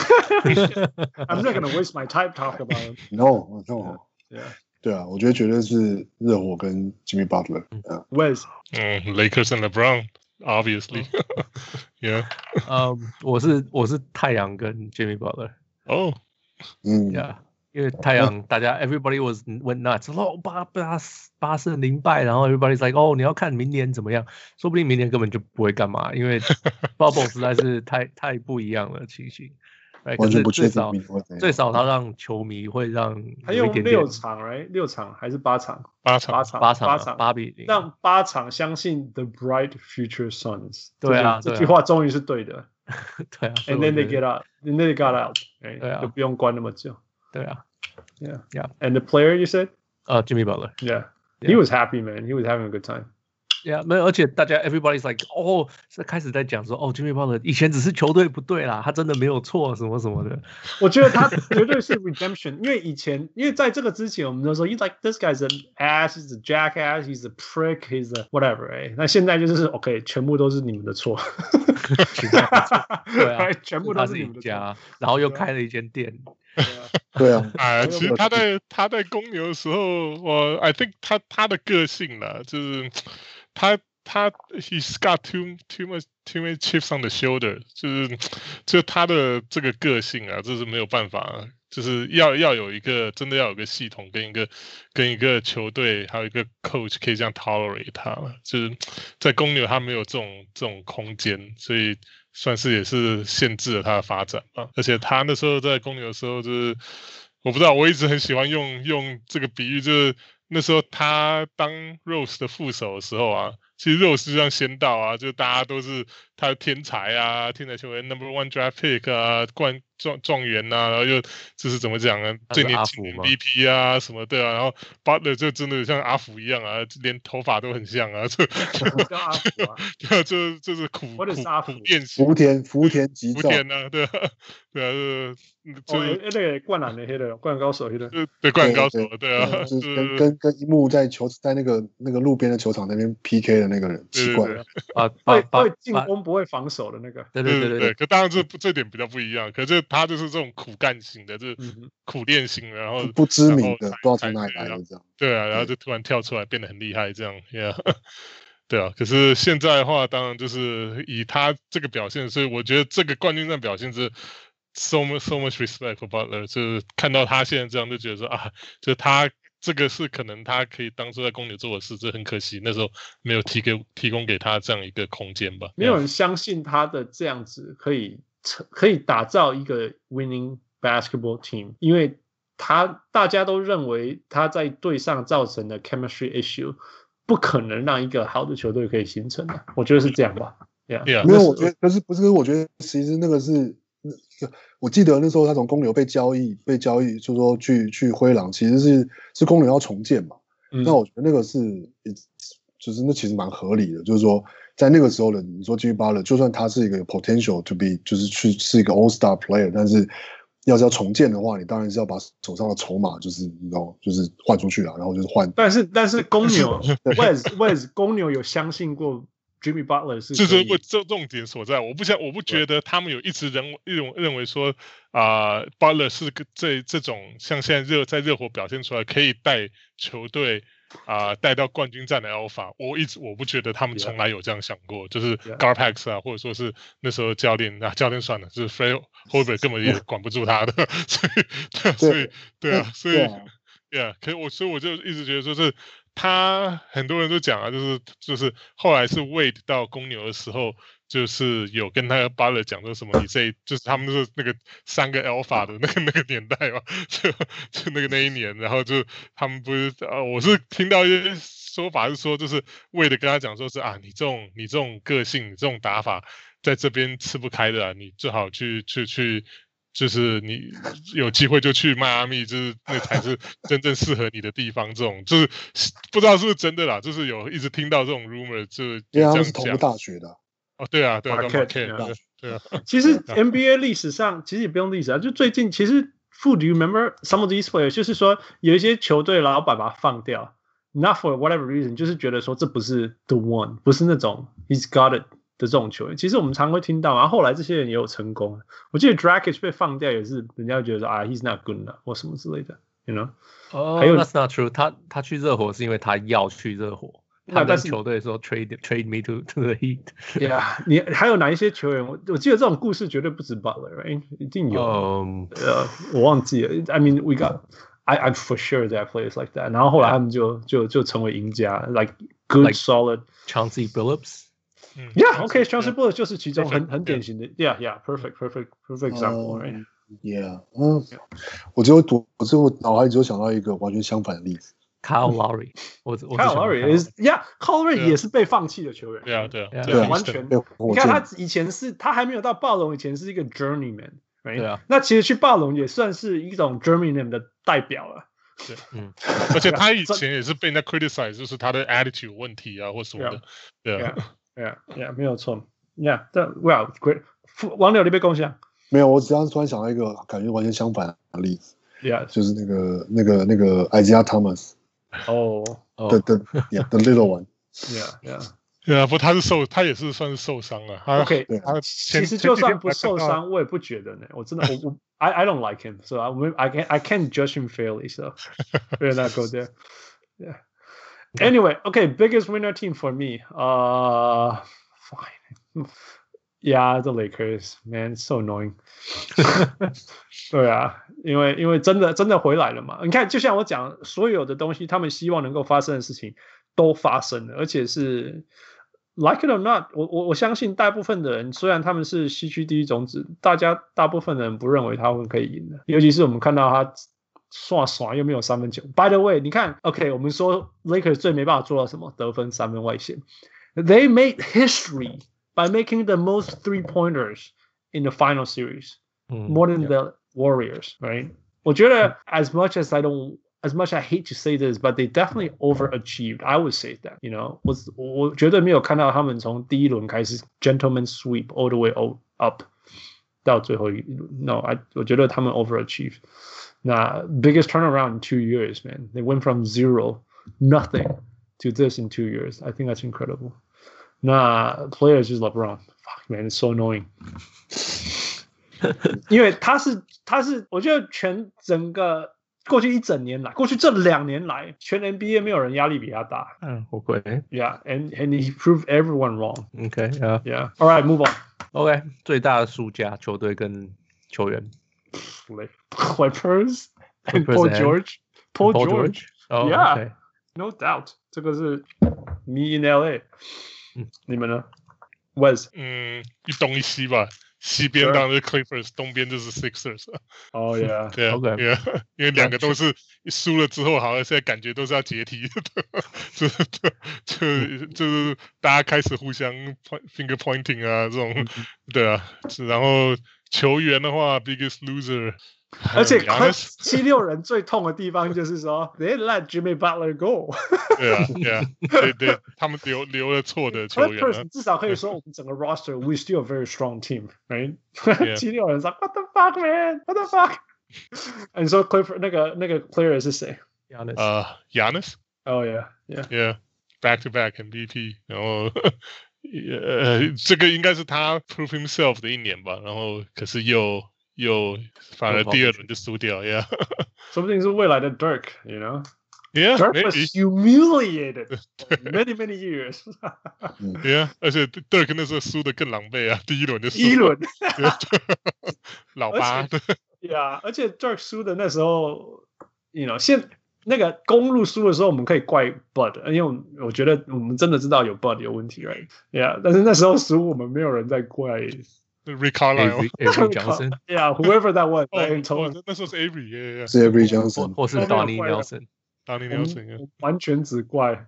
I'm not gonna waste my time talk about him. No. Yeah. 對啊，我覺得絕對是熱火跟 Jimmy Butler。Wes， Lakers and LeBron obviously， yeah。 我是太陽跟 Jimmy Butler。 哦 ，yeah。因為太陽大家 everybody went nuts， 說8勝0敗，然後 everybody's like 你要看明年怎麼樣，說不定明年根本就不會幹嘛，因為 bubble 實在是太不一樣了情形。可是最少他讓球迷會讓他用6場 right 6場還是8場 8比0， 讓8場相信 the bright future suns。 對啊， 這句話終於是對的。 對啊 ，and then they got out， 對啊，就不用關那麼久。 對啊 ，Yeah. And the player you said? Jimmy Butler. Yeah. He was happy, man. He was having a good time. 沒有，而且大家 everybody's like 開始在講說Jimmy Butler 以前只是球隊不對啦，他真的沒有錯什麼什麼的。 我覺得他絕對是 redemption， 因為在這個之前我們都說 like this guy's an ass, he's a jackass, he's a prick, he's a whatever， 那現在就是 OK， 全部都是你們的錯。 对啊， 全部都是你们的家，然後又開了一間店。 对啊， 其實他在公牛的時候，I think 他的個性啦，就是他 he's got too many chips on the shoulder， 就他的這個個性啊，這是沒有辦法，就是要有一個真的要有個系統跟一個球隊還有一個 coach 可以這樣 tolerate 他，就是在公牛他沒有這種空間，所以算是也是限制了他的發展吧。而且他那時候在公牛的時候，就是我不知道，我一直很喜歡用這個比喻，就是那時候他當 Rose 的副手的時候啊，其實 Rose 就像仙道啊，就大家都是他的天才啊，天才球員 No.1 draft pick 啊，狀元啊，然後又就是怎麼講呢，最年輕的 MVP 啊什麼的啊，然後 Butler 就真的像阿福一樣啊，連頭髮都很像啊， 叫阿福啊， 對啊，就是苦練習， 福田吉兆， 福田啊，对啊， 就是那個灌籃的黑的，灌籃高手黑的， 對，灌籃高手，對啊， 就是跟一幕在那個路邊的球場那邊 PK 的那個人，奇怪會進攻不會防守的那個， 對，可當然這點比較不一樣，可是他就是這種苦幹型的，就是苦練型的，然後不知名的，不知道從哪裡來的這樣， 對啊，然後就突然跳出來變得很厲害這樣 ，yeah， 對啊，可是現在的話，當然就是以他這個表現，所以我覺得這個冠軍戰表現是 so much respect for Butler， 就是看到他現在這樣就覺得說啊，就是他這個是可能他可以當初在公牛做的事，這很可惜那時候沒有提供給他這樣一個空間吧。 沒有人相信他的這樣子可以打造一個 winning basketball team， 因為大家都認為他在隊上造成的 chemistry issue 不可能讓一個好的球隊可以形成的，我覺得是這樣吧。 沒有，我覺得可是不是，我覺得其實那個是。我記得那時候他從公牛被交易，就是說去灰狼，其實是公牛要重建嘛。那我覺得那個就是那其實蠻合理的，就是說在那個時候的你說 Jimmy Butler， 就算他是一個 potential to be 就是是一個 All Star player， 但是要重建的話，你當然是要把手上的籌碼就是換出去了，然後就是換。 但是公牛Wes 公牛有相信過Jimmy Butler 是这重點所在，我不覺得他們有一直認為說Butler 是這種像現在在熱火表現出來可以帶球隊帶到冠軍戰的 Alpha， 我不覺得他們從來有這樣想過，就是 Garpax 啊，或者說是那時候教練算了，就是 Fred Hoiberg 根本也管不住他的，所以所以我就一直覺得說是。他很多人都講啊，就是後來是 Wade 到公牛的時候，就是有跟他 Butler 講說什麼，就是他們就是那個3個 Alpha 的那個年代嘛，就那一年，然後就他們不是我是聽到一些說法是說，就是 Wade 跟他講說是啊，你這種個性，你這種打法，在這邊吃不開的啊，你最好去。就是你有機會就去邁阿密，就是那才是真正適合你的地方。這種就是不知道是不是真的啦，就是有一直聽到這種 rumor， 就這樣講。因為他是同個大學的。 哦， 對啊。 其實 NBA 歷史上其實也不用歷史啊，就最近其實 Do you remember some of these players？ 就是說有一些球隊老闆把他放掉 ，not for whatever reason， 就是覺得說這不是 the one， 不是那種 he's got it。的這種球員，其實我們常會聽到，然後後來這些人也有成功。我記得 Dragic 被放掉也是，人家覺得說he's not good enough 或什麼之類的 ，you know？ 還有 That's not true。他去熱火是因為他要去熱火，他跟球隊說 trade me to the Heat。Yeah， 你還有哪一些球員？我記得這種故事絕對不止 Butler，right？ 一定有。我忘記了。I mean, we got I'm for sure there are players like that。然後後來他們就成為贏家 ，like good solid Chauncey Billups。Yeah, Chauncey Billups 就是其中很典型的 ，perfect example，right？ Yeah， 我腦海只有想到一個完全相反的例子 ，Kyle Lowry。Kyle Lowry 也是被放棄的球員。 對， 完全。你看他以前他還沒有到暴龍以前是一個 journeyman，right？ 對啊。 那其實去暴龍也算是一種 journeyman 的代表了。 對，而且他以前也是被人家 criticize， 就是他的 attitude 有問題啊，或什麼的。对啊 ，Yeah， 没有錯。Yeah， 但 Well great， 王柳你被共享？ 没有，我只要突然想到一个感觉完全相反的例子。 Yeah， 就是那個 Isaiah Thomas。The little one。 对啊，不，他也是算是受傷了。 OK， 其實就算不受傷，我也不覺得呢。我真的I don't like him, so I can't judge him fairly. So we're not go there. Yeah. Anyway, okay, biggest winner team for me. Fine. Yeah, the Lakers, man, it's so annoying. 对啊，因為真的回來了嘛。你看，就像我講，所有的東西，他們希望能夠發生的事情都發生了，而且是 like it or not， 我相信大部分的人，雖然他們是西區第一種子，大部分的人不認為他們可以贏的，尤其是我們看到他耍又沒有三分球。By the way， 你看 ，OK， 我們說 Lakers 最沒辦法做到什麼？得分三分外線。They made history by making the most three-pointers in the final series, more than the Warriors, right? 我覺得 as much I hate to say this, but they definitely overachieved. I would say that, you know, 我絕對沒有看到他們從第一輪開始 gentleman sweep all the way up 到最後一輪。No, 我覺得他們 overachieved. 那 biggest turnaround in 2 years, man. They went from nothing to this in 2 years. I think that's incredible. 那 players 就是 LeBron. Fuck, man, it's so annoying. 因為他是，我覺得整個過去這2年來，全 NBA 沒有人壓力比他大。 OK. Yeah, and he proved everyone wrong. Okay, yeah. All right, move on. OK, 最大的輸家球隊跟球員。 Clippers and Paul George. Paul George. Oh, yeah, okay. No doubt. 這個是 me in LA. 你們呢 ？Wes？ 一東一西吧。西邊當然是 Clippers， 東邊就是 Sixers。 Oh yeah， 對啊 ，OK， 因為兩個都是輸了之後，好像現在感覺都是要解體的，就是大家開始互相 finger pointing 啊，這種，對啊，然後球員的話 ，biggest loser。 而且76人最痛的地方就是說 ，they let Jimmy Butler go 。 對，他們留了錯的球員。 Clippers 至少可以說我們整個 roster，we still a very strong team，right？ 76人說 ，What the fuck, man? What the fuck？ 你說 Clippers 那個 player 是誰 ？Giannis。 Oh yeah，back to back MVP， 然後這個應該是他 prove himself 的一年吧，然後可是又反而第二輪就輸掉 ，Yeah， 說不定是未來的 Dirk，you know？Yeah, Dirk was humiliated many years. Yeah， 而且 Dirk 那時候輸得更狼狽啊，第一輪就輸。 一輪， 老八。 Yeah， 而且 Dirk 輸的那時候 ，you know， 那個公路輸的時候，我們可以怪 Bud， 因為我覺得我們真的知道有 Bud 有問題 ，right？ Yeah， 但是那時候輸，我們沒有人在怪。 Rick Carlisle, Avery Johnson, yeah, whoever that was. 那時候是 Avery， 是 Avery Johnson， 或是 Donnie Nelson， 完全只怪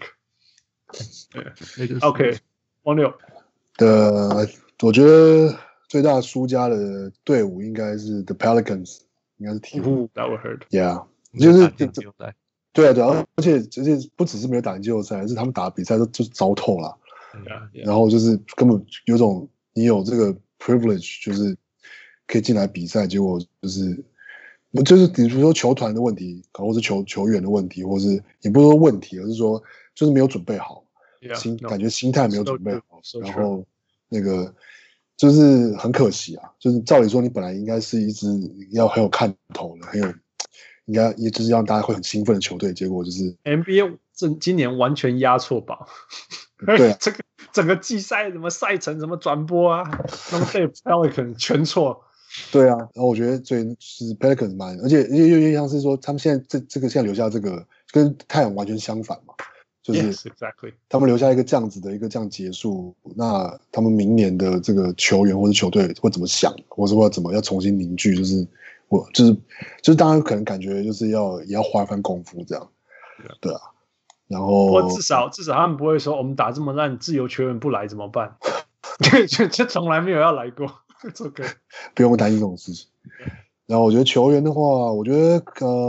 Dirk。OK， 王六。 我覺得最大輸家的隊伍應該是 The Pelicans， 應該是鹈鶘。 That would hurt. Yeah， 就是對啊，而且不只是沒有打進季後賽，是他們打的比賽都就是糟透了。然後就是根本有種。你有這個 privilege， 就是可以進來比賽，結果就是比如說球團的問題，或是球員的問題，或是也不是說問題，而是說就是沒有準備好，感覺心態沒有準備好，然後那個就是很可惜啊。就是照理說，你本來應該是一支要很有看頭的，應該也就是讓大家會很興奮的球隊，結果就是 NBA 今年完全壓錯寶。 對啊， 這個整個季賽什麼賽程什麼轉播啊，那麼對 Pelican 全錯。對啊，然後我覺得最是 Pelican 蠻，而且又像是說他們現在這個現在留下這個跟太陽完全相反嘛，就是 exactly 他們留下一個這樣子的一個這樣結束，那他們明年的這個球員或者球隊會怎麼想，或者說怎麼要重新凝聚，就是大家可能感覺就是也要花一番功夫這樣，對啊。然後至少他們不會說我們打這麼爛，自由球員不來怎麼辦？就從來沒有要來過。It's okay， 不用擔心這種事情。 然後我覺得球員的話，我觉得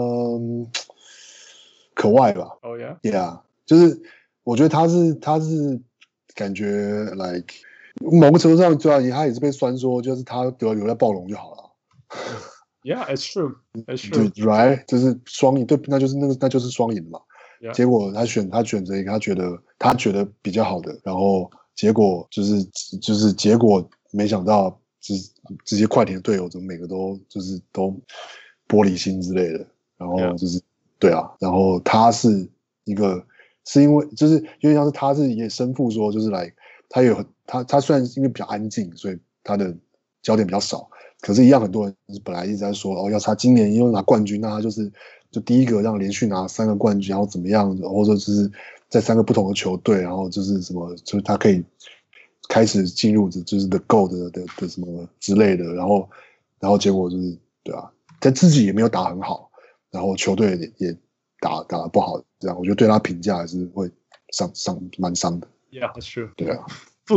可外吧。 Oh yeah. Yeah， 就是我覺得他是感覺 like 某個程度上，對啊，他也是被酸說，就是他得留在暴龍就好了。 Yeah, it's true. It's true. Right， 就是雙贏，对，那就是雙贏嘛。 Yeah. 結果他選擇一個他覺得比較好的，然後結果就是結果沒想到，就是這些快艇的隊友怎麼每個都玻璃心之類的，然後就是 Yeah. 對啊，然後他是因為就是因為像是他是也身負說就是來他雖然因為比較安靜，所以他的焦點比較少。可是，一樣很多人本來一直在說，要是他今年又拿冠軍，那他就第一个讓連續拿3個冠軍，然後怎麼樣，或者就是在3個不同的球隊，然後就是什麼，就是他可以開始進入就是 the GOAT 的什麼之類的，然後結果就是對啊，但自己也沒有打很好，然後球隊也打得不好，這樣我覺得對他評價還是會蠻傷的。 Yeah, that's true. 對啊，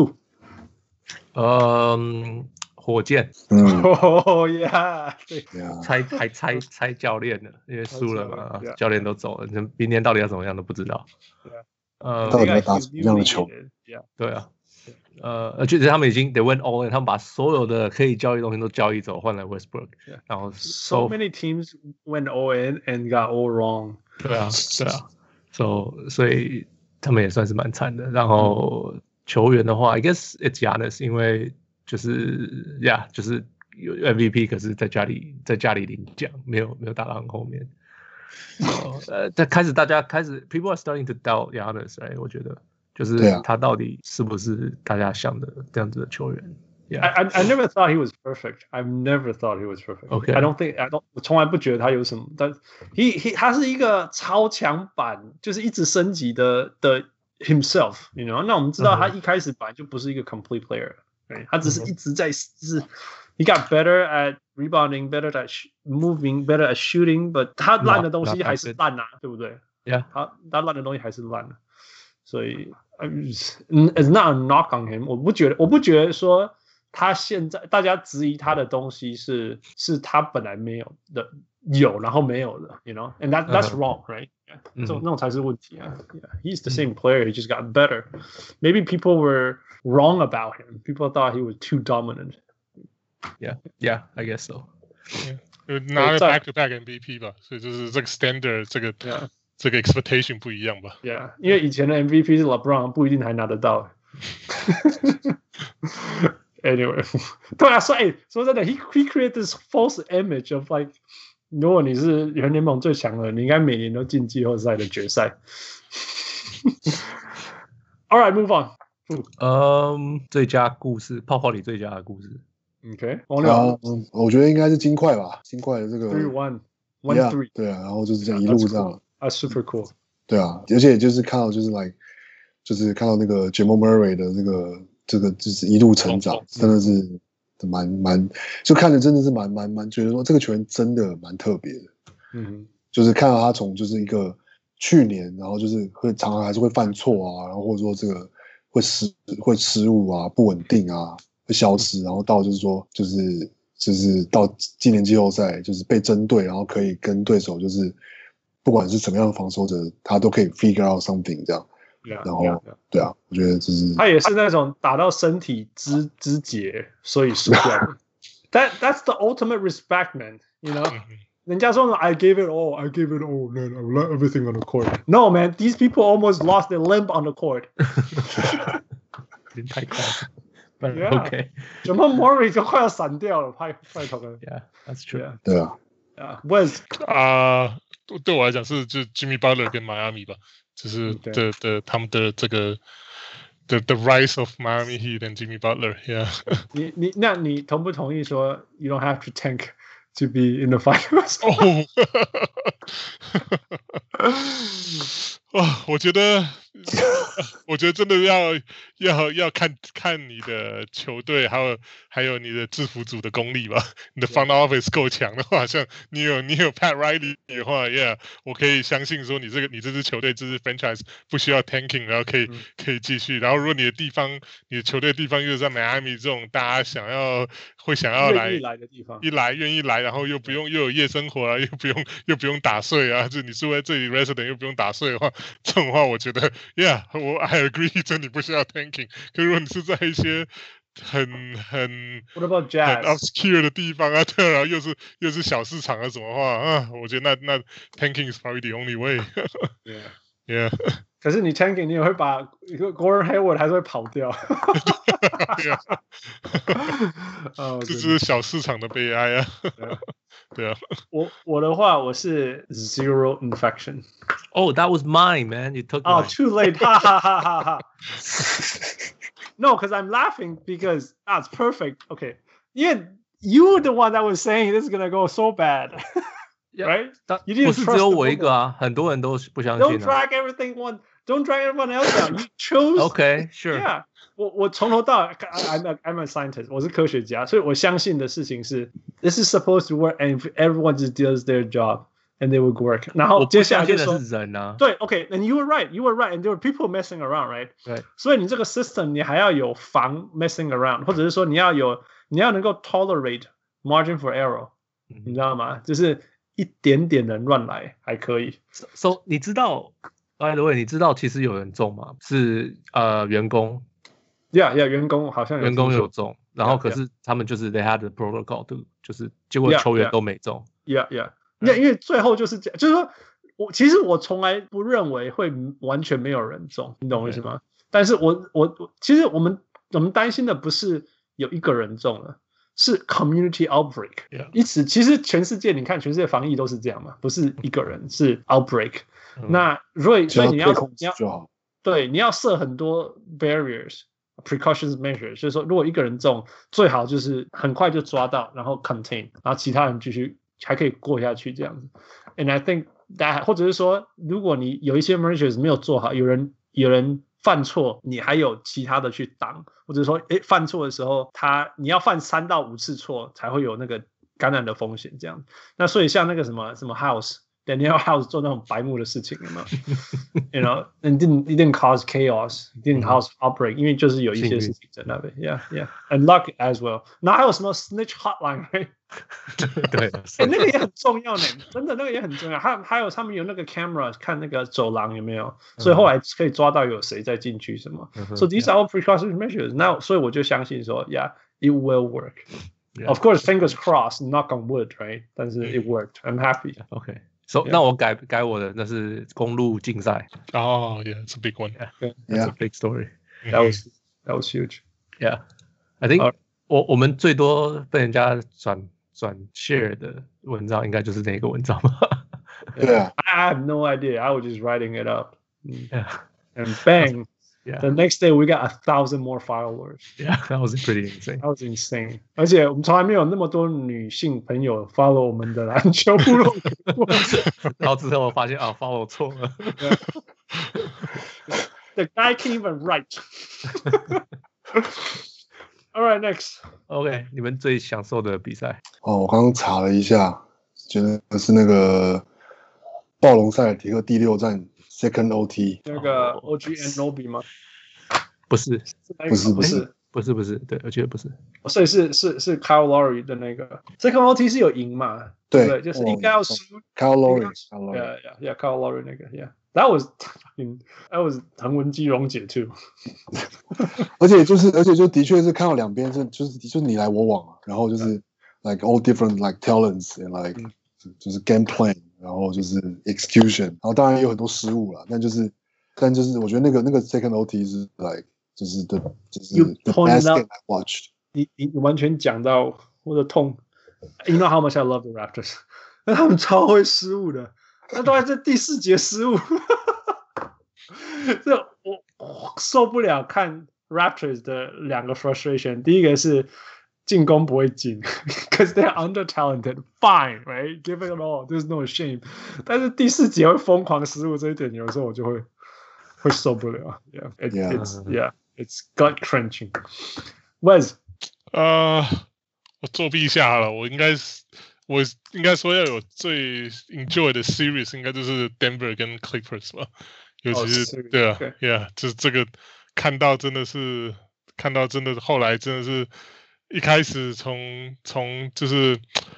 火箭 ，Oh yeah， 對， 猜教練了，因為輸了嘛，教練都走了，明年到底要怎麼樣都不知道。 到底要打什麼樣的球？ 對啊，而且他們已經 they went all in， 他們把所有的可以交易的東西都交易走，換來 Westbrook， 然後 so many teams went all in and got all wrong。 對啊，所以他們也算是蠻慘的。然後球員的話 ，I guess it's Giannis， 因為就是就是有 MVP， 可是在家裡領獎，沒有打到很後面。大家開始 people are starting to doubt Giannis， 我覺得就是他到底是不是大家想的這樣子的球員。 I never thought he was perfect. I've never thought he was perfect. Okay. I don't 我從來不覺得他有什麼，但他是一個超強版，就是一直升級的 himself， you know？ 那我們知道他一開始本來就不是一個 complete player， 他只是一直在he got better at rebounding, better at moving, better at shooting, but 他爛的東西還是爛啊，對不對？ Yeah， 他爛的東西還是爛的，所以 it's not a knock on him。我不覺得說他現在大家質疑他的東西是他本來沒有的，有然後沒有的 ，you know? And that's wrong, right? 那種才是問題啊。He's the same player, he just got better. Maybe people were wrong about him. People thought he was too dominant. Yeah, I guess so. 拿了 back-to-back MVP 吧，所以就是這個 standard， 這個 expectation 不一樣吧。 Yeah， 因為以前的 MVP 是 LeBron， 不一定還拿得到。Anyway， 對啊，說真的 ，he created this false image of like， 如果你是全聯盟最強的，你應該每年都進季後賽的決賽。All right, move on. 最佳故事，泡泡裡最佳的故事。 OK， 我覺得應該是金塊吧，金塊的這個 3-1 對啊，然後就是這樣一路這樣 ，super cool。 對啊，而且就是看到就是看到那個 Jamal Murray 的這個就是一路成長，真的是蠻就看着真的是蠻覺得說這個球員真的蠻特別的。就是看到他從就是一個去年，然後就是常常還是會犯錯啊，然後或者說這個會失誤啊，不穩定啊。會消失，然後到就是說，就是到今年季後賽，就是被針對，然後可以跟對手就是不管是什麼樣的防守者，他都可以 figure out something 這樣。然後對啊，我覺得就是他也是那種打到身體肢節，所以輸掉。That's the ultimate respect, man. You know, 人家說 I gave it all, man. I left everything on the court. No, man, these people almost lost their limb on the court. 太快了。 Okay， Jamal Murray 就快要閃掉了，快投了。 Yeah, that's true. 對啊。 Wes 對我來講是就 Jimmy Butler 跟 Miami 吧，就是他們的這個the rise of Miami Heat and Jimmy Butler. Yeah. 那你同不同意說 you don't have to tank to be in the finals? 我覺得我覺得真的要看你的球隊，還有你的制服組的功力吧。你的 front office 夠強的話，像你有 Pat Riley 的話 ，Yeah， 我可以相信說你這支球隊這支 franchise 不需要 tanking， 然後可以繼續。然後如果你的球隊地方又在 Miami 這種大家會想要來的地方， 願意来，然後又有夜生活啊，又不用打稅啊，就你住在這裡 resident 又不用打稅的话，這種話我覺得 I agree， 这你不需要 tanking。可是如果你是在一些很 What about jazz？ 很 obscure 的地方啊，对，然後又是小市場啊什麼話啊，我覺得那 tanking is probably the only way 。Yeah。 可是你 tanking 你也會把 Gordon Hayward 還是會跑掉。 這是小市場的悲哀啊。對啊。 我的話我是 zero infection。 Oh, that was mine, man. You took mine. Oh, too late. Ha ha ha ha ha. No, because I'm laughing because it's perfect. Okay. Yeah, you were the one that was saying this is gonna go so bad. Right? 不是只有我一個啊，很多人都不相信。 Don't drag everyone else down. You chose. Okay, sure. Yeah. 我從頭到尾 I'm a scientist. 我是科學家，所以我相信的事情是 this is supposed to work, and if everyone just does their job, and they would work. 然後接下來就說人啊， 對 ，OK, and you were right, and there were people messing around, right? 对， 所以你這個 system 你還要有防 messing around， 或者是說你要能夠 tolerate margin for error， 你知道嗎？就是一點點人亂來還可以。 So 你知道 ，by the way， 你知道其實有人中嗎？是員工。 Yeah, 員工好像員工有中，然後可是他們就是 they had the protocol， 就是結果球員都沒中。 Yeah. 因為最後就是這樣，就是說其實我從來不認為會完全沒有人中，你懂我意思嗎？但是其實我們擔心的不是有一個人中了，是 community outbreak。其實全世界你看，全世界防疫都是這樣嘛，不是一個人是 outbreak。那所以你要對你要設很多 barriers。Precautions measures， 就是說，如果一個人中，最好就是很快就抓到，然後 contain， 然後其他人繼續還可以過下去這樣子。And I think that， 或者是說，如果你有一些 measures 沒有做好，有人犯錯，你還有其他的去擋，或者說，犯錯的時候，你要犯3到5次錯才會有那個感染的風險這樣。那所以像那個什麼 House。Daniel House 做那種白目的事情，有沒有 ？You know, it didn't cause chaos, it didn't cause outbreak， 因為就是有一些事情在那邊 ，Yeah, and luck as well。那還有什麼 snitch hotline， right？ 對， 那個也很重要呢，真的那個也很重要。還有他們有那個 camera 看那個走廊有沒有，所以後來可以抓到有誰在進去什麼。So these are all precautionary measures。那所以我就相信說 ，Yeah, it will work。Of course, fingers crossed, knock on wood, right？ 但是 it worked. I'm happy. Okay.So 那我改我的，那是公路競賽。 Oh, yeah, it's a big one. That's a big story. That was huge. Yeah, I think 我們最多被人家轉 share 的文章，應該就是那個文章吧。 Yeah. I have no idea. I was just writing it up. Yeah. And bang. The next day we got 1,000 more followers. Yeah, that was pretty insane. That was insane. 而且我們從來沒有那麼多女性朋友 follow 我們的籃球部落格。 然後之後我發現follow 錯了。 The guy can't even write. All right, next. OK， 你們最享受的比賽？ 我剛剛查了一下，覺得是那個暴龍塞爾提克第6戰。Second OT 那個 OG Anunoby 嗎？ 不是，對，我覺得不是。 所以是 Kyle Lowry 的那個 Second OT 是有贏嘛？對，就是應該要輸。 Kyle Lowry， Yeah, Kyle Lowry 那個 ，Yeah, that was 橫紋肌溶解 too。 而且就的確是看到兩邊就是你來我往，然後就是 like all different like talents and like 就是 game plan。然後就是 execution， 然後當然也有很多失誤啦，但就是我覺得那個 second OT 是 like 就是 the best game I watched。 你完全講到我的痛。You know how much I love the Raptors， 那他們超會失誤的，那都在這第4節失誤。這我受不了看 Raptors 的2個 frustration， 第一個是。進攻不會進 ，because they're under talented. Fine, right? Give it all. There's no shame. 但是第4節會瘋狂失誤這一點，有時候我就會會受不了。It's gut clenching. Wes， 我作弊一下好了，我应該說要有最 enjoy 的 series， 应該就是 Denver 跟 Clippers 吧，尤其是對啊 ，Yeah， 就是這個看到真的後來真的是一開始從就是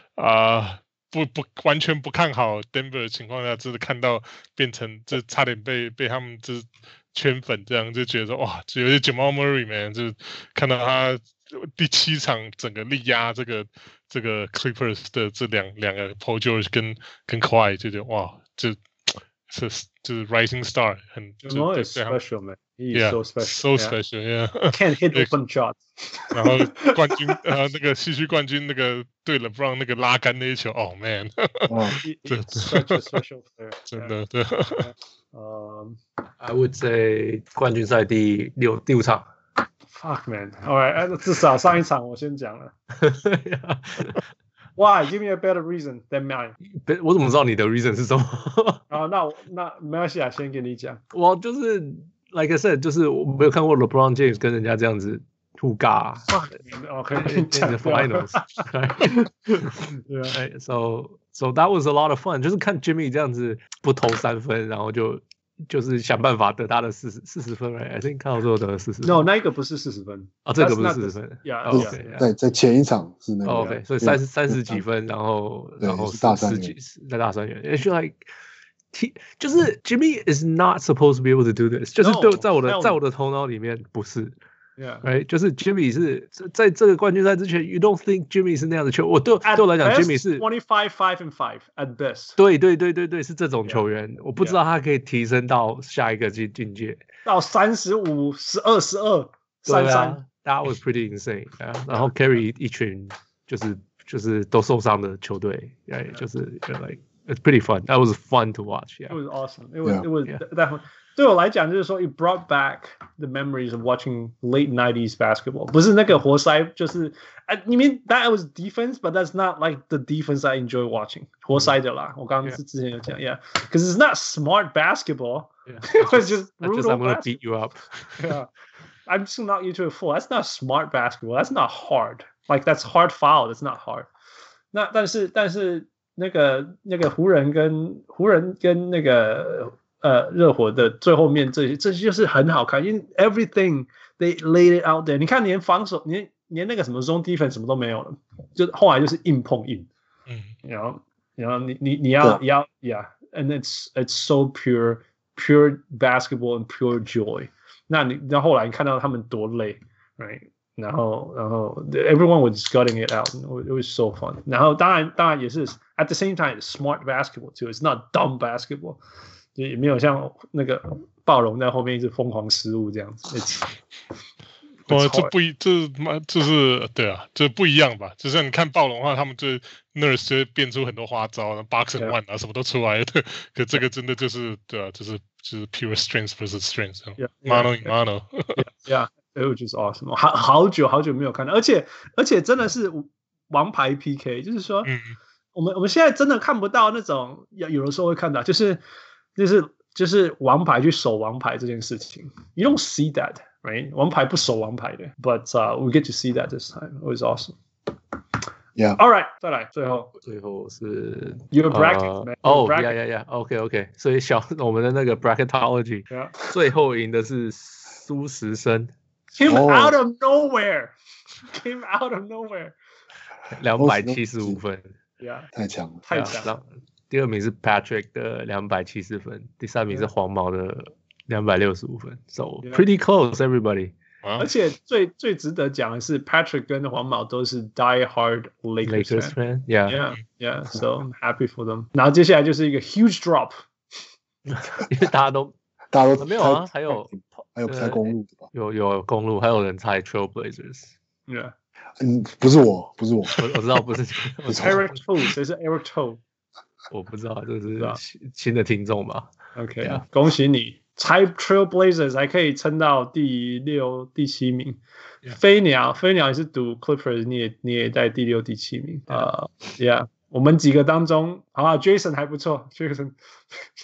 完全不看好 Denver 的情況下，就是看到變成就差點被他們就是圈粉，這樣就覺得說哇，有些 Jamal Murray man 就看到他第7場整個力壓這個 Clippers 的這兩個 Paul George 跟 Kawhi 就覺得哇，就是 rising star 很 Jamal is special man. He's Yeah, so special. So special. Yeah. Can't hit open shots. 然後冠軍那個西区冠軍那個對 LeBron 那個拉桿那一球 ，Oh man. He's such a special player. 真的對。 I would say 冠軍賽第5場。 Fuck man. All right. 至少上一場我先講了。Why? Give me a better reason than mine. 我怎麼知道你的 reason 是什麼？ 那沒關係啊，先給你講。 我就是 like I said， 就是我沒有看過 LeBron James 跟人家這樣子互尬。 OK. In the finals. Right? So that was a lot of fun. 就是看 Jimmy 這樣子不投3分，然後就是想辦法得他的40分 ，right？ I think 看到最後得了40分。 No， 那一個不是40分。 這個不是40分。 在前一場是那個。 OK， 所以30幾分，然後10幾在大三元。It's like就是 Jimmy is not supposed to be able to do this， 就是在我的頭腦裡面不是。Right， 就是 Jimmy 是在這個冠軍賽之前 ，You don't think Jimmy 是那樣的球？對我來講 ，Jimmy 是 25-5-5 at best。 對，是這種球員，我不知道他可以提升到下一個境界， 到35-12-12、33。 That was pretty insane。然後 carry 一群就是都受傷的球隊，就是 like it's pretty fun. That was fun to watch. It was awesome. It was definitely. 對我來講，就是說 it brought back the memories of watching late 90s basketball. 不是那個活塞，就是you mean that was defense, but that's not like the defense I enjoy watching. 活塞的啦，我剛剛之前有講 because it's not smart basketball. It was just brutal. I'm gonna beat you up. Yeah, I'm just knock you to a fool. That's not smart basketball. That's not hard. Like that's hard foul. That's not hard. 但是那個湖人跟那個。熱火的最後面這些就是很好看，因為 everything they laid it out there。你看連防守，連那個什麼 zone defense 什麼都沒有了，就後來就是硬碰硬。然後你要 and it's so pure basketball and pure joy。那後來你看到他們多累 ，right？ 然後 everyone was gutting it out. It was so fun。然後當然也是 at the same time it's smart basketball too. It's not dumb basketball。也沒有像那個暴龙在後面一直瘋狂失誤這樣子。 這是對啊，這不一樣吧？就像你看暴龍的話，他們就 Nurse 就變出很多花招，Box and One 什麼都出來了。可這個真的就是對啊，就是 pure strength versus strength。Mano mano。 Yeah, it was just awesome。好久沒有看到，而且真的是王牌 PK， 就是說，我們現在真的看不到那種，有的時候會看到，就是王牌去守王牌這件事情 ，You don't see that, right？ 王牌不守王牌的 ，but we get to see that this time. It was awesome. Yeah. All right， 再來，最後是 Your bracket, man. Yeah. OK， 所以我們的那個 bracketology， 最後贏的是蘇時生 ，Came out of nowhere， 275分 ，Yeah， 太強了， 太強了。 第二名是 Patrick 的270分，第三名是黃毛的265分 ，So pretty close everybody。 而且最值得講的是 Patrick 跟黃毛都是 die hard Lakers fan，Yeah. So I'm happy for them。然後接下來就是一個 huge drop， 因為大家都沒有啊，還有猜公路的吧？ 有公路，還有人猜 Trailblazers。Yeah， 不是我， 我知道不是 Eric Toe， 谁是 Eric Toe？ 我不知道，这是新的听眾吧 ？OK， 恭喜你，猜 Trailblazers 還可以撐到第6、第7名。飛鳥也是賭 Clippers， 你也在第6、第7名。Yeah， 我們幾個當中，好吧 ，Jason 還不錯 ，Jason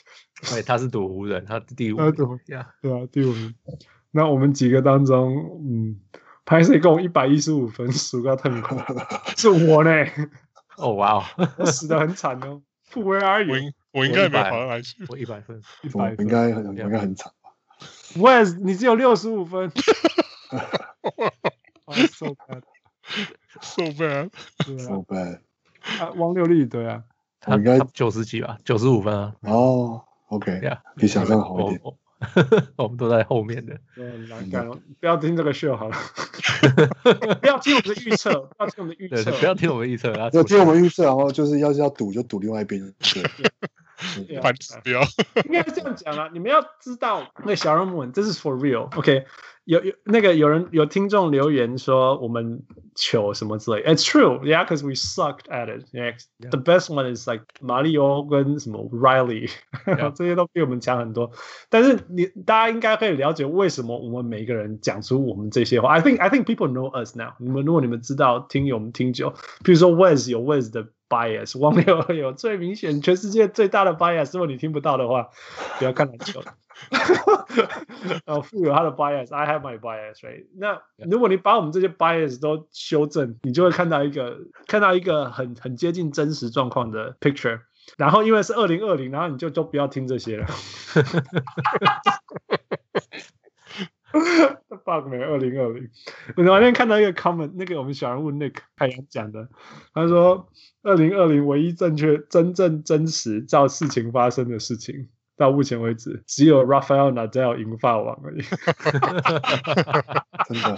對，他是賭湖人，他第5名。 对啊，第5名。那我們幾個當中，拍攝共115分，輸到痛苦，是我呢。 哦哇哦， 我死得很慘哦。Where are you？ 我應該沒有跑上來去。 我100分， 我應該很慘吧 ？Wes， 你只有65分。So bad，so bad。 汪六力对啊， 他90幾吧，95分啊。 哦 ，OK， 比想象好一點。 我們都在後面的。 很難幹哦，不要聽這個秀好了。不要聽我們的預測，不要聽我們的預測， 不要聽我們預測， 要聽我們預測，然後就是要賭就賭另外一邊。 反指標應該是這樣講啊，你們要知道，那小人物，這是 for real。OK， 有人有聽眾留言說我們糗什麼之類 ，It's true, yeah, because we sucked at it. Yeah, the best one is like 馬里歐跟什麼 Riley， 這些都比我們強很多。但是大家應該可以了解為什麼我們每個人講出我們這些話。I think people know us now。如果你們知道聽我們聽久，比如說 Wes 有 Wes 的 bias， 汪六有最明顯全世界最大的 bias。如果你聽不到的話，不要看籃球。然後富有他的 bias，I have my bias， right？ 那如果你把我們這些 bias 都修正，你就會看到一個很接近真實狀況的 picture。然後因為是2020，然後你就不要聽這些了。fuck man， 2020。我那天看到一個 comment， 那個我們小人物 Nick 太陽講的，他說2020唯一真正真實照事情發生的事情。到目前為止，只有 Rafael Nadal 贏法網而已。 真的。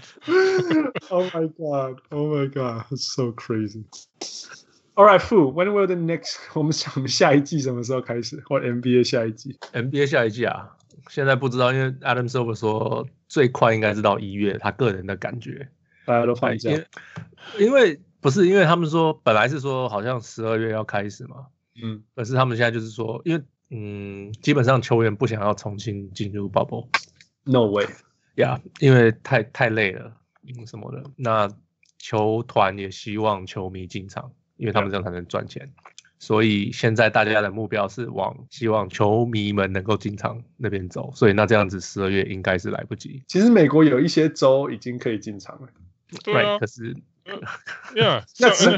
Oh my god! Oh my god! It's so crazy. All right, Fu. When will the next? 我們下一季什麼時候開始？或 NBA 下一季 ？NBA 下一季啊，現在不知道，因為 Adam Silver 說最快應該是到1月，他個人的感覺。 大家都放假。 因為他們說本來是說好像12月要開始嘛，可是他們現在就是說，因為基本上球員不想要重新進入 bubble。No way。 Yeah， 因為太累了，什麼的。那球團也希望球迷進場，因為他們這樣才能賺錢。所以現在大家的目標是希望球迷們能夠進場那邊走。所以那這樣子12月應該是來不及。 其實美國有一些州已經可以進場了。 對啊， 可是。 Yeah， 那只是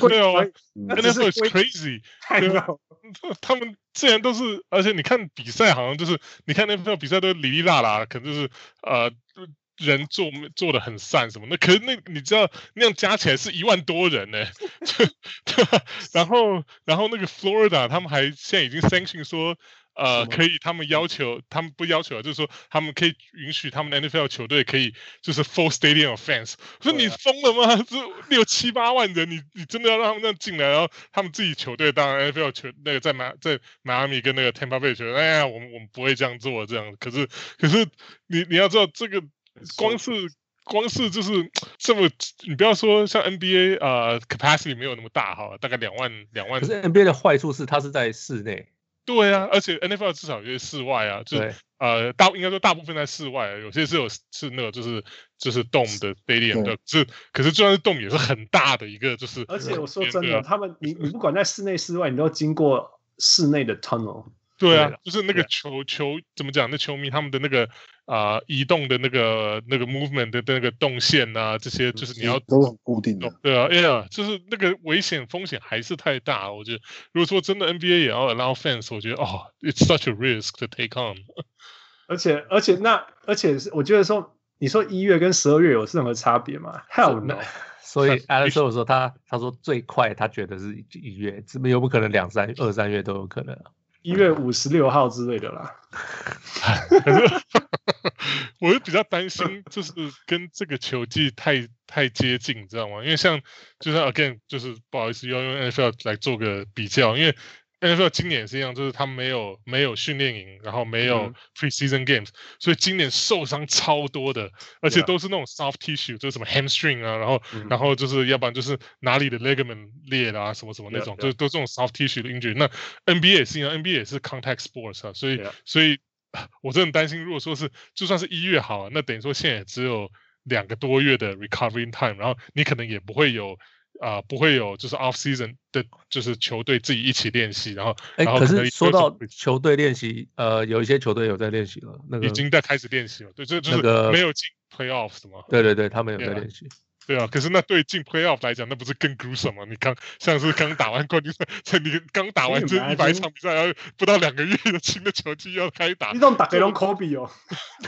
NFL is crazy。他們既然都是，而且你看比賽好像就是，你看 NFL 比賽都哩哩啦啦，可能就是人做的很散什麼的，可是你知道那樣加起來是1萬多人呢，對吧？然後那個 Florida 他們還現在已經 sanction 說。可以，他們不要求，就是說他們可以允許他們的 NFL 球隊可以就是 full stadium of fans。我說你瘋了嗎？這6、7、8萬人，你真的要讓他們這樣進來？然後他們自己球隊當然 NFL 球那個在邁阿密跟那個 Tampa Bay 球隊，哎呀，我們不會這樣做這樣。可是你要知道這個光是就是這麼，你不要說像 NBA capacity 沒有那麼大哈，大概2萬。 可是 NBA 的壞處是它是在室內。 對啊，而且 NFL 至少有些室外啊，就是應該說大部分在室外，有些是那個就是 dome 的 stadium 的，可是就算是 dome 也是很大的一個，就是。而且我說真的，他們你不管在室內室外，你都經過室內的 tunnel。 对啊，就是那個球怎麼講？那球迷他們的那個移動的那個 movement 的那個動線啊，這些就是你要都很固定的。 對啊，哎呀，就是那個危險風險還是太大。我覺得，如果說真的 NBA 也要 allow fans， 我覺得it's such a risk to take on。 而且我覺得說，你說1月跟12月有任何差別嗎 ？Hell no。 所以 Alex 說他說最快他覺得是1月，怎麼有不可能2、3月都有可能啊 ？1月56號之類的啦。 可是我就比較擔心，就是跟這個球季太接近，你知道嗎？因為就像 again， 就是不好意思要用 NFL 來做個比較，因為 NFL 今年也是一樣，就是他們沒有訓練營，然後沒有 preseason games，所以今年受傷超多的，而且都是那種 soft tissue， 就是什麼 hamstring 啊，然後就是要不然就是哪裡的 ligament 裂啦，什麼那種，就都這種 soft tissue 的 injury。那 NBA 也是一樣，NBA 也是 contact sports 啊，所以我真的很擔心，如果說是就算是1月好，那等於說現在也只有2個多月的 recovery time， 然後你可能也不會有不會有就是 off season 的，就是球隊自己一起練習，然後可是說到球队練習，有一些球队有在練習了，那個已經在開始練習了，对，就是沒有進 playoff 的嘛， 对，他们有在練習。 对啊，可是那对進 playoff 來講，那不是更 gruesome 嗎？你像是剛打完冠軍賽，你剛打完這100場比賽，然後不到2個月的新的球季要開打， 你這種打給人 Kobe 哦。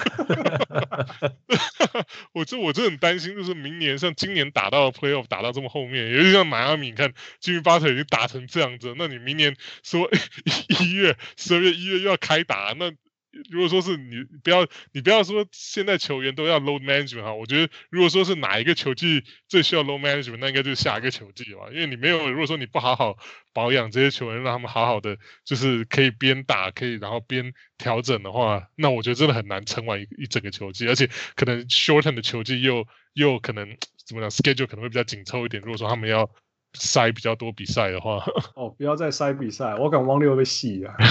我真的很擔心，就是明年像今年打到 playoff 打到這麼後面，尤其像邁阿密，你看 Jimmy Butler 已經打成這樣子，那你明年說12月又要開打，那如果說是你不要說現在球員都要 load management 哈，我覺得如果說是哪一個球季最需要 load management， 那應該就是下一個球季吧，因為你沒有，如果說你不好好保養這些球員，讓他們好好的就是可以邊打可以然後邊調整的話，那我覺得真的很難撐完一整個球季，而且可能 shorten 的球季又可能怎麼講 schedule 可能會比較緊湊一點，如果說他們要塞比較多比賽的話， 不要再塞比賽，我敢汪六被洗啊！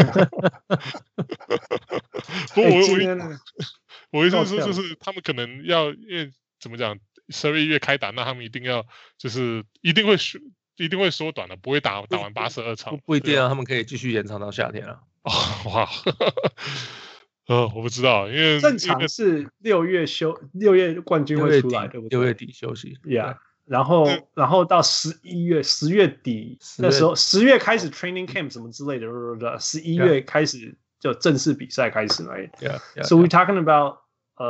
不过我意思是说，就是他們可能要，因為怎麼講，12月開打，那他們一定要就是一定會縮短的，不會打完82場， 不一定啊，他們可以繼續延長到夏天啊。 哇，我不知道，因為正常是6月冠軍會出來，对不对？6月底休息 ，Yeah。然後到10月底那時候，10月開始 training camp 什麼之類的，11月開始就正式比賽開始了。So we talking about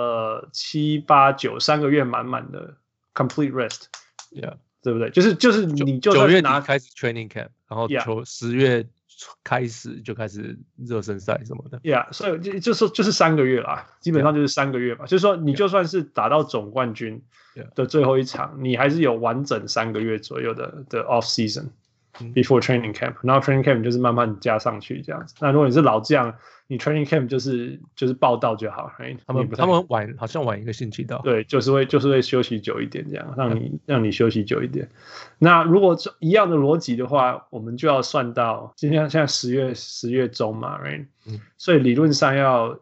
7、8、9 3個月滿滿的 complete rest， 對不對？就是你就 9月底開始 training camp， 然後10月開始就開始熱身賽什麼的。 所以就是3個月啦，基本上就是3個月吧。就是說你就算是打到總冠軍的最後一場，你還是有完整3個月左右的 off season before training camp， 然後 training camp 就是慢慢加上去這樣子。那如果你是老將，你 training camp 就是報到就好，他們好像晚1個星期到， 對，就是會休息久一點這樣，讓你休息久一點。那如果一樣的邏輯的話，我們就要算到現在10月中嘛 ，right？所以理論上要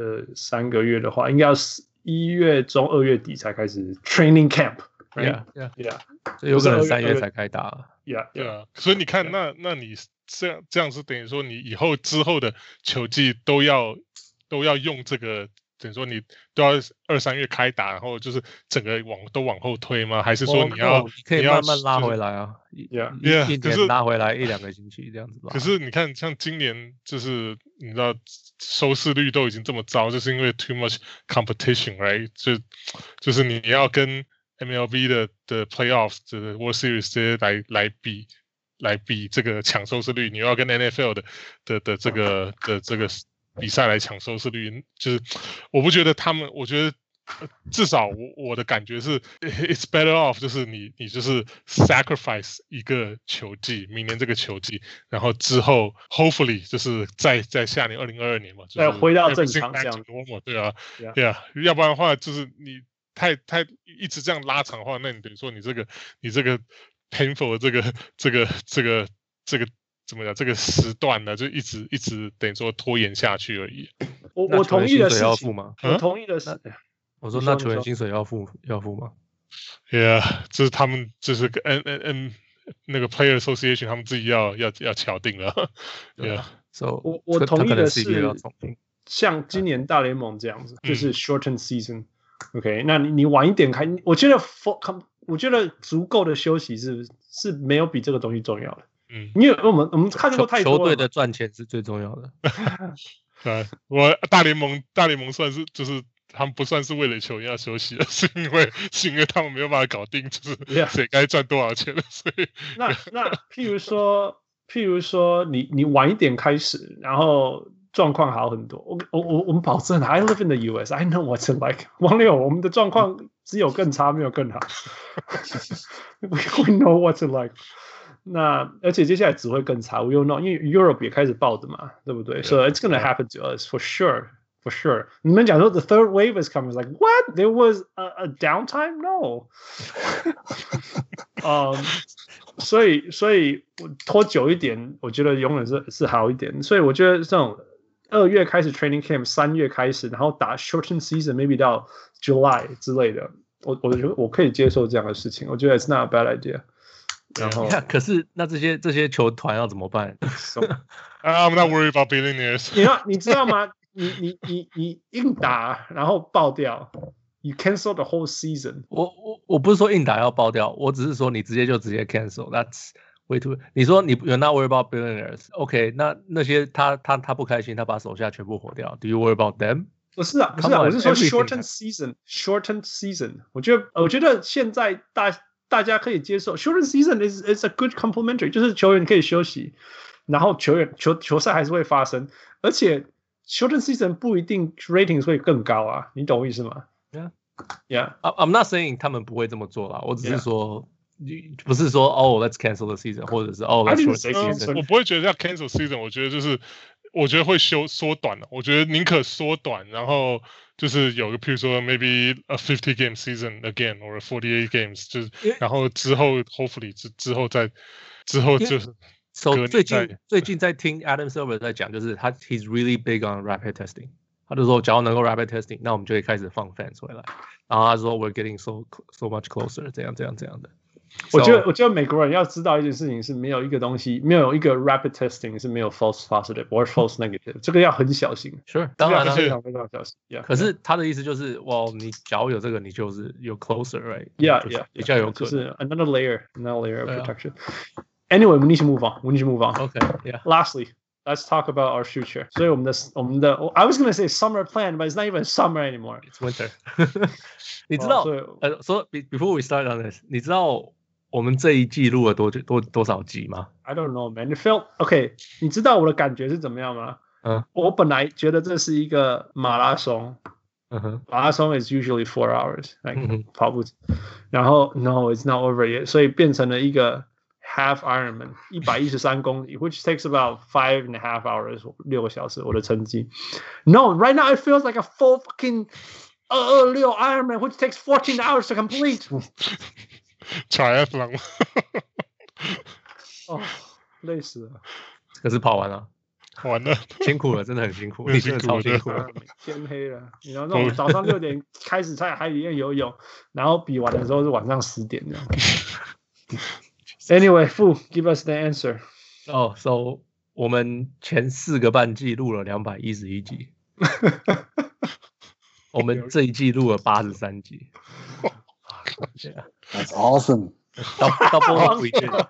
3個月的話，應該要1月中2月底才開始 training camp。Yeah， 所以有可能3月才開打了。 Yeah， 所以你看，那你這樣是等於說，你之後的球季都要用這個，等於說你都要2、3月開打，然後就是整個都往後推嗎？還是說你可以慢慢拉回來啊？一年拉回來1、2個星期這樣子吧。 可是你看，像今年就是你知道收視率都已經這麼糟，就是因為 too much competition，right？ 就是你要跟 MLB 的 playoffs 就是 World Series 这些來比這個搶收視率，你要跟 NFL 的這個比賽來搶收視率，就是我不覺得他們，我覺得至少我的感覺是 it's better off， 就是你就是 sacrifice 一個球季，明年這個球季，然後之後 hopefully 就是在下年2022年嘛，就是回到正常這樣， 對啊，要不然的話就是你太一直這樣拉長的話，那你等於說你這個 painful 的這個怎麼講？這個時段呢，就一直等於說拖延下去而已。 我同意的事情要付嗎？ 我同意的是， 我說那球員薪水要付嗎 ？Yeah， 这是他們就是那個 Player Association 他們自己要敲定了。 Yeah， 我同意的是，像今年大聯盟這樣子，就是 shorten season。OK， 那你晚一點開，我覺得足夠的休息是沒有比這個東西重要的。因為我們看過太多了， 球隊的賺錢是最重要的。 我大聯盟算是就是他們不算是為了球員要休息，是因為他們沒有辦法搞定，就是誰該賺多少錢了。所以那譬如說你晚一點開始，然後狀況好很多。我們保證 ，I live in the US, I know what's it like。王六，我們的狀況只有更差，沒有更好。We know what's it like。那而且接下來只會更差 ，we don't know， 因為 Europe 也開始爆的嘛，對不對 ？So it's gonna happen to us for sure, for sure。你們講說 the third wave is coming, like what? There was a downtime? No 。所以我拖久一點，我覺得永遠是好一點。所以我覺得這種2月開始 training camp， 3月開始，然後打 shorten season，maybe 到 July 之類的。 我覺得我可以接受這樣的事情，我覺得 it's not a bad idea。然後， 可是那这些球团要怎麼辦 ？I'm not worried about billionaires。 你知道嗎？你硬打然後爆掉 ，you cancel the whole season。 我不是說硬打要爆掉，我只是說你直接 cancel。That's way too。你說你 you're not worried about billionaires，OK？、那些他不開心，他把手下全部火掉。Do you worry about them？ 不是啊，我是說 shortened season。我覺得現在大家可以接受 shortened season is a good complementary， 就是球員可以休息，然後球賽還是會發生，而且 shortened season 不一定 ratings 會更高啊，你懂我意思嗎 ？Yeah. I'm not saying 他們不會這麼做啦，我只是說。不是說let's cancel the season， 或者是let's short the season。 我不會覺得要 cancel season， 我覺得會縮短了。我覺得寧可縮短，然後就是有個，譬如說 maybe a 50 game season again or 48 games， 就是然後之後 hopefully 之後就是。 最近在聽 Adam Silver 在講，就是he's really big on rapid testing。他就說，只要能夠 rapid testing， 那我們就可以開始放 fans 回來。然後他說 we're getting so much closer， 這樣的。 我覺得美國人要知道一件事情是，沒有一個東西，沒有一個 rapid testing 是沒有 false positive or false negative， 這個要很小心。 Sure， 當然了， 非常小心。 可是他的意思就是，你假如有這個，你就是有 closer，right？ Yeah， 比較有可能。 就是 another layer of protection。Anyway, we need to move on. Okay, yeah. Lastly, let's talk about our future. 所以我們的 I was going to say summer plan, but it's not even summer anymore. It's winter. 你知道so before we start on this， 你知道我們這一季錄了多少集嗎 ？I don't know, man. It felt okay. 你知道我的感覺是怎麼樣嗎？我本來覺得這是一個馬拉松。馬拉松 is usually 4 hours， 跑步。然後 no, it's not over yet. 所以變成了一個。Half Ironman 113公里 which takes about 5.5 hours 6個小時我的成績 No right now it feels like a full fucking 226 Ironman which takes 14 hours to complete Triathlon 累死了可是跑完了完了辛苦了真的很辛苦你真的超辛苦了天黑了你知道那種早上6點開始在海裡面游泳然後比完的時候是晚上10點這樣Anyway, Fu, give us the answer. So 我們前4個半季錄了211集，我們這一季錄了83集。 That's awesome. Double we did.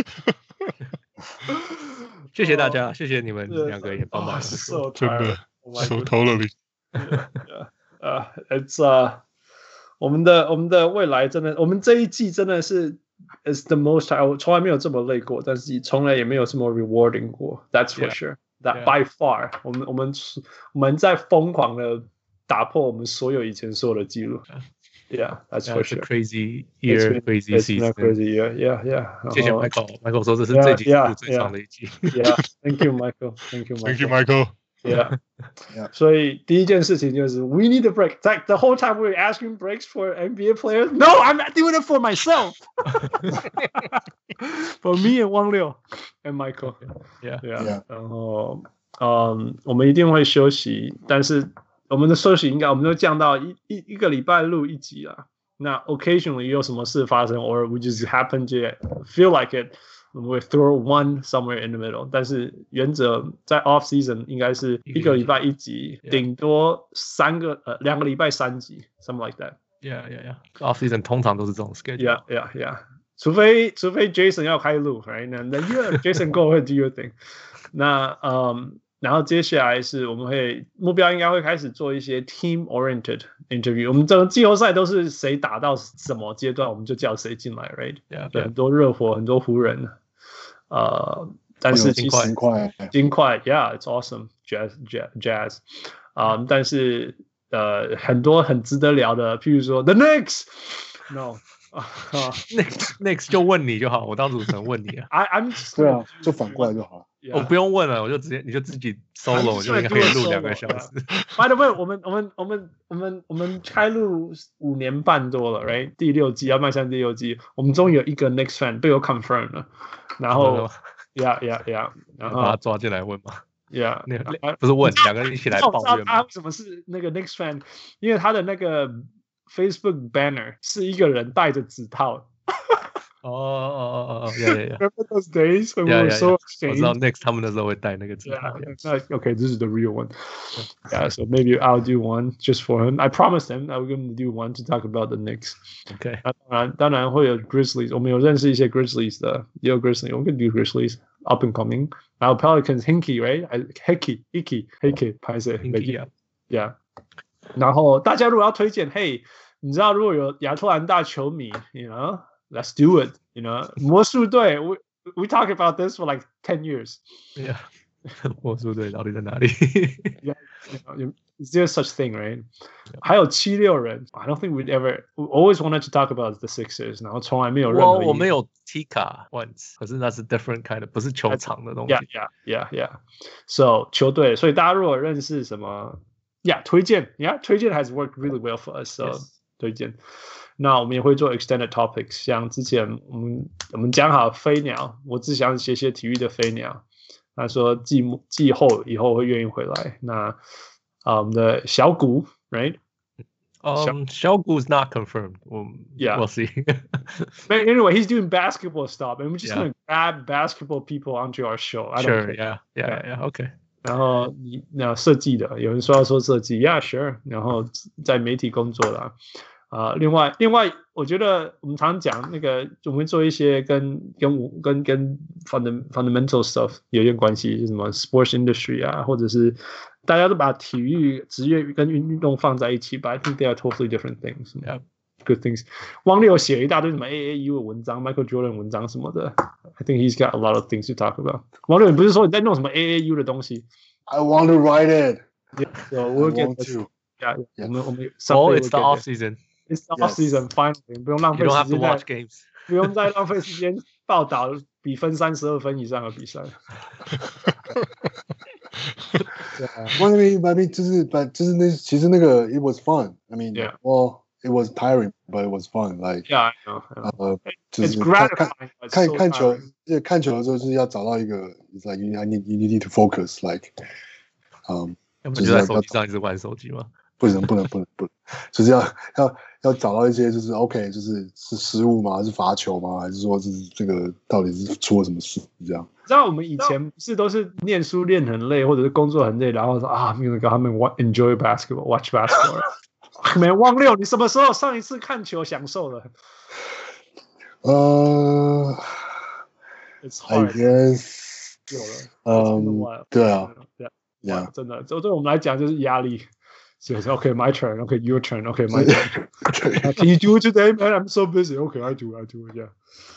謝謝大家，謝謝你們2個也幫忙。 真的 ，so totally. It's 我們的未來真的，我們這一季真的是。It's the most 我從來沒有這麼累過，但是從來也沒有這麼 rewarding 過。That's for sure. That by far. 我們在瘋狂的打破我們所有以前所有的記錄。Yeah, that's for sure. It's a crazy year, crazy season. Crazy year. Yeah. 謝謝 Michael 說這是這季錄最長的一季。 Yeah, thank you, Michael. Thank you, Michael. Yeah. 所以第一件事情就是 we need a break. Like the whole time we were asking breaks for NBA players. No, I'm not doing it for myself. For me and 汪六 and Michael. Yeah. 然後我們一定會休息，但是我們的休息我們都降到一個禮拜錄1集啦。那 occasionally 有什麼事發生 or we just happen to feel like it.We throw one somewhere in the middle， 但是原則在 off season 應該是1個禮拜1集，頂多2個禮拜3集 ，something like that. Yeah. Off season 通常都是這種 schedule. Yeah. 除非 Jason 要開錄 ，right？ 那 Jason go ahead do your thing. 那然後接下來是我們目標應該會開始做一些 team oriented interview。我們整個季後賽都是誰打到什麼階段，我們就叫誰進來 ，right？ Yeah. 很多熱火，很多湖人。但是其實金塊 ，Yeah, it's awesome, jazz. 但是很多很值得聊的，譬如說 The Knicks, no, Knicks 就問你就好，我當主持人問你啊。 對啊，就反過來就好。 我不用問了，我就直接你就自己 solo， 我就应该可以錄2個小時。 By the way， 我們開錄5年半多了 ，right？ 第6季要邁向第6季，我們終於有一個 Knicks fan 被我 confirm 了。然後 ，Yeah， 然後把他抓進來問嘛。 Yeah， 不是問2個人一起來抱怨嗎？ 他為什麼是那個 Knicks fan？ 因為他的那個 Facebook banner 是一個人戴着指套。 Yeah. Remember those days when we were so ashamed? 我知道 Next 他們那時候會戴那個指套。 Okay, this is the real one. Yeah, so maybe I'll do one just for him. I promised him I was going to do one to talk about the Knicks. Okay. 當然會有 Grizzlies， 我們有認識一些 Grizzlies 的，也有 Grizzlies， 我們可以 do Grizzlies up and coming. 然後 Pelicans Hinkie, right? Hickey, 拍攝 Hinkie, yeah. 然後大家如果要推薦，嘿，你知道如果有亞特蘭大球迷 ，you know。Let's do it, you know. 魔術隊 we talk about this for like 10 years. Yeah. 魔術隊到底在哪裡 Yeah, you know, is there such thing, right? 還有76人 I don't think we always wanted to talk about the Sixers, 然後從來沒有任何我們有 Tika once, 可是那是 different kind of, 不是球場的東西。 Yeah. So 球隊，所以大家如果認識什麼 推薦 has worked really well for us, so yes. 推薦。那我們也會做 extended topics， 像之前我們講好飛鳥，我只想寫體育的飛鳥，他說季後以後會願意回來。那我們的小谷 ，right？ 小谷 is not confirmed. We'll see. But anyway, he's doing basketball stuff, and we're just gonna grab basketball people onto our show. Sure, yeah, okay. 然後那設計的，有人說要說設計 ，Yeah, sure。然後在媒體工作啦。另外，我覺得我們常講那個，我們做一些跟 fundamental stuff 有點關係，就是什麼 sports industry 啊，或者是大家都把體育職業跟運動放在一起 ，but I think they are totally different things. Yeah, good things. 汪六寫一大堆什麼 AAU 的文章 ，Michael Jordan 文章什麼的 ，I think he's got a lot of things to talk about. 汪六，你不是說你在弄什麼 AAU 的東西 I want to write it. Yeah, so we'll get to. Yeah. 我們 it's the off season.It's the off season, finally. 不用浪費時間 You don't have to watch games. 不用再浪費時間報道比分32分以上的比賽。 I mean, 就是那其實那個 it was fun. I mean, well, it was tiring, but it was fun. Like, yeah, I know. 就是 It's gratifying. 看球的時候就是要找到一個 ，it's like you need to focus. Like, 要不就在手機上一直玩手機嗎？ 不能，就是要找到一些就是 OK， 就是失誤嗎？是罰球嗎？還是說這個到底是出了什麼事？這樣。 知道我們以前不是都是念書練很累，或者是工作很累，然後說啊，沒有跟他們 enjoy basketball, watch basketball。沒忘六，你什麼時候上一次看球享受了？It's hard. I guess 有了。 對啊。 Yeah. 真的，对我們來講就是壓力。So okay, my turn. Okay, your turn. Okay, my turn. Can you do it today, man? I'm so busy. Okay, I do. Yeah.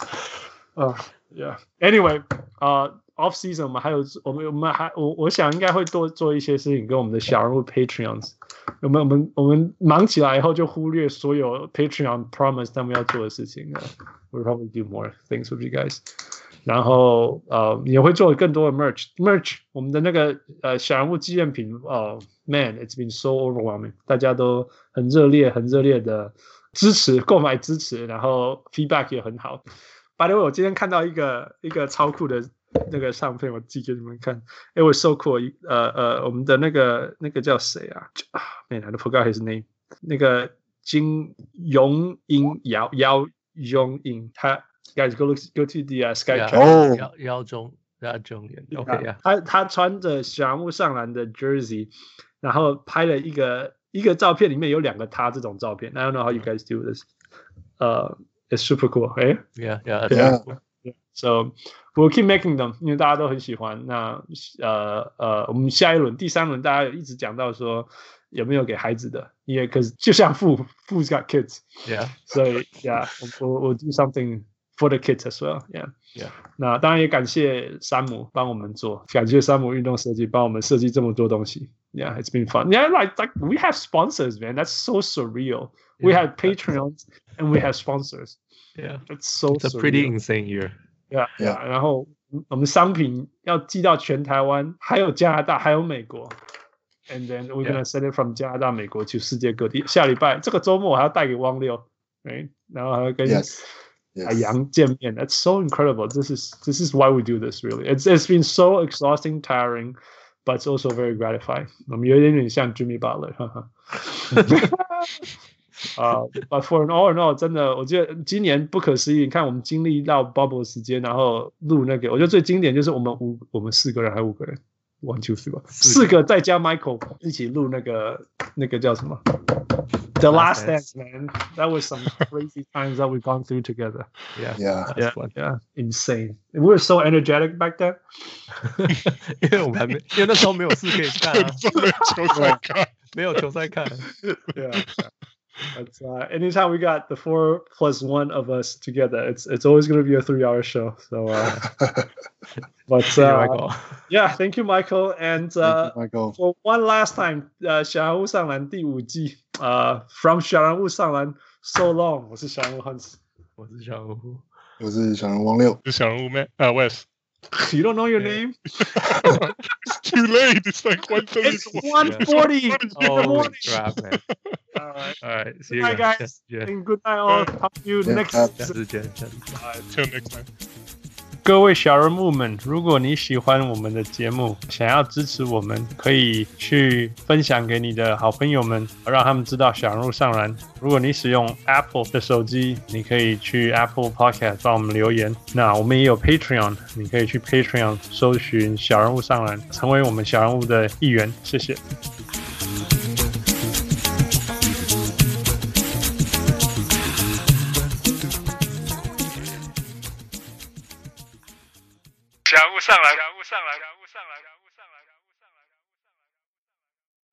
Yeah. Anyway, off season 我想應該會多做一些事情跟我們的小人物 Patreons。我們忙起來以後就忽略所有 Patreon promise 他們要做的事情。We'll probably do more things with you guys. 然後也會做更多的 merch 我們的那個小人物紀念品man it's been so overwhelming 大家都很熱烈的支持購買支持然後 feedback 也很好 by the way 我今天看到一個超酷的那個相片我寄給你們看 it was so cool 我們的那個叫誰啊 man I forgot his name 那個金永英姚永英他Guys, go to the Skype chat. 姚中 OK 呀。 他穿着小人物上籃的 jersey， 然後拍了一個照片，裡面有2個他這種照片。I don't know how you guys do this. It's super cool, right? Yeah. So we'll keep making them， 因為大家都很喜歡。那我們下一輪第3輪，大家有一直講到說有沒有給孩子的？因為可是就像Fu's got kids. Yeah. So yeah, we'll do something.For the kids as well, yeah. 那當然也感謝山姆幫我們做，感謝山姆運動設計幫我們設計這麼多東西。Yeah, it's been fun. Yeah, like we have sponsors, man. That's so surreal. We have Patreons and we have sponsors. Yeah, that's so. It's a pretty insane year. Yeah. 然後我們商品要寄到全台灣，還有加拿大，還有美國。And then we're gonna send it from 加拿大、美國去世界各地。下禮拜這個週末我還要帶給汪六， right? 然後還要跟。海洋見面 That's so incredible. This is why we do this, really. It's been so exhausting, tiring, but it's also very gratifying. 我們有一點像 Jimmy Butler. But for an all in all， 真的，我觉得今年不可思议。你看，我們經歷到 bubble 時間，然後錄那個，我覺得最經典就是我們4個人還是5個人 ，1 2 3吧，4個再加 Michael 一起錄那個叫什麼 ？The Last Dance, man. That was some crazy times that we've gone through together. Yeah, insane. We were so energetic back then. 因為我們還沒，因為那時候沒有事可以看啊，沒有球賽看。 Yeah. But anytime we got the 4 + 1 of us together, it's always going to be a 3-hour show. So, yeah, thank you, Michael. And thank you, Michael. For one last time, 小人物上籃第5季，From 小人物上籃 So long， 我是小人物 Hans， 我是小人物， 我是小人物王六， 是小人物 Wes。 You don't know your name? It's too late. It's like 1:30. It's 1:40 in the morning. Crap, man. All right. See you guys. And good night, all. Talk to you next time. Till next time. 各位小人物們，如果你喜歡我們的節目，想要支持我們，可以去分享給你的好朋友們，讓他們知道小人物上籃。如果你使用 Apple 的手機，你可以去 Apple Podcast 幫我們留言。那我們也有 Patreon， 你可以去 Patreon 搜尋小人物上籃，成為我們小人物的一員。謝謝。小人物上籃。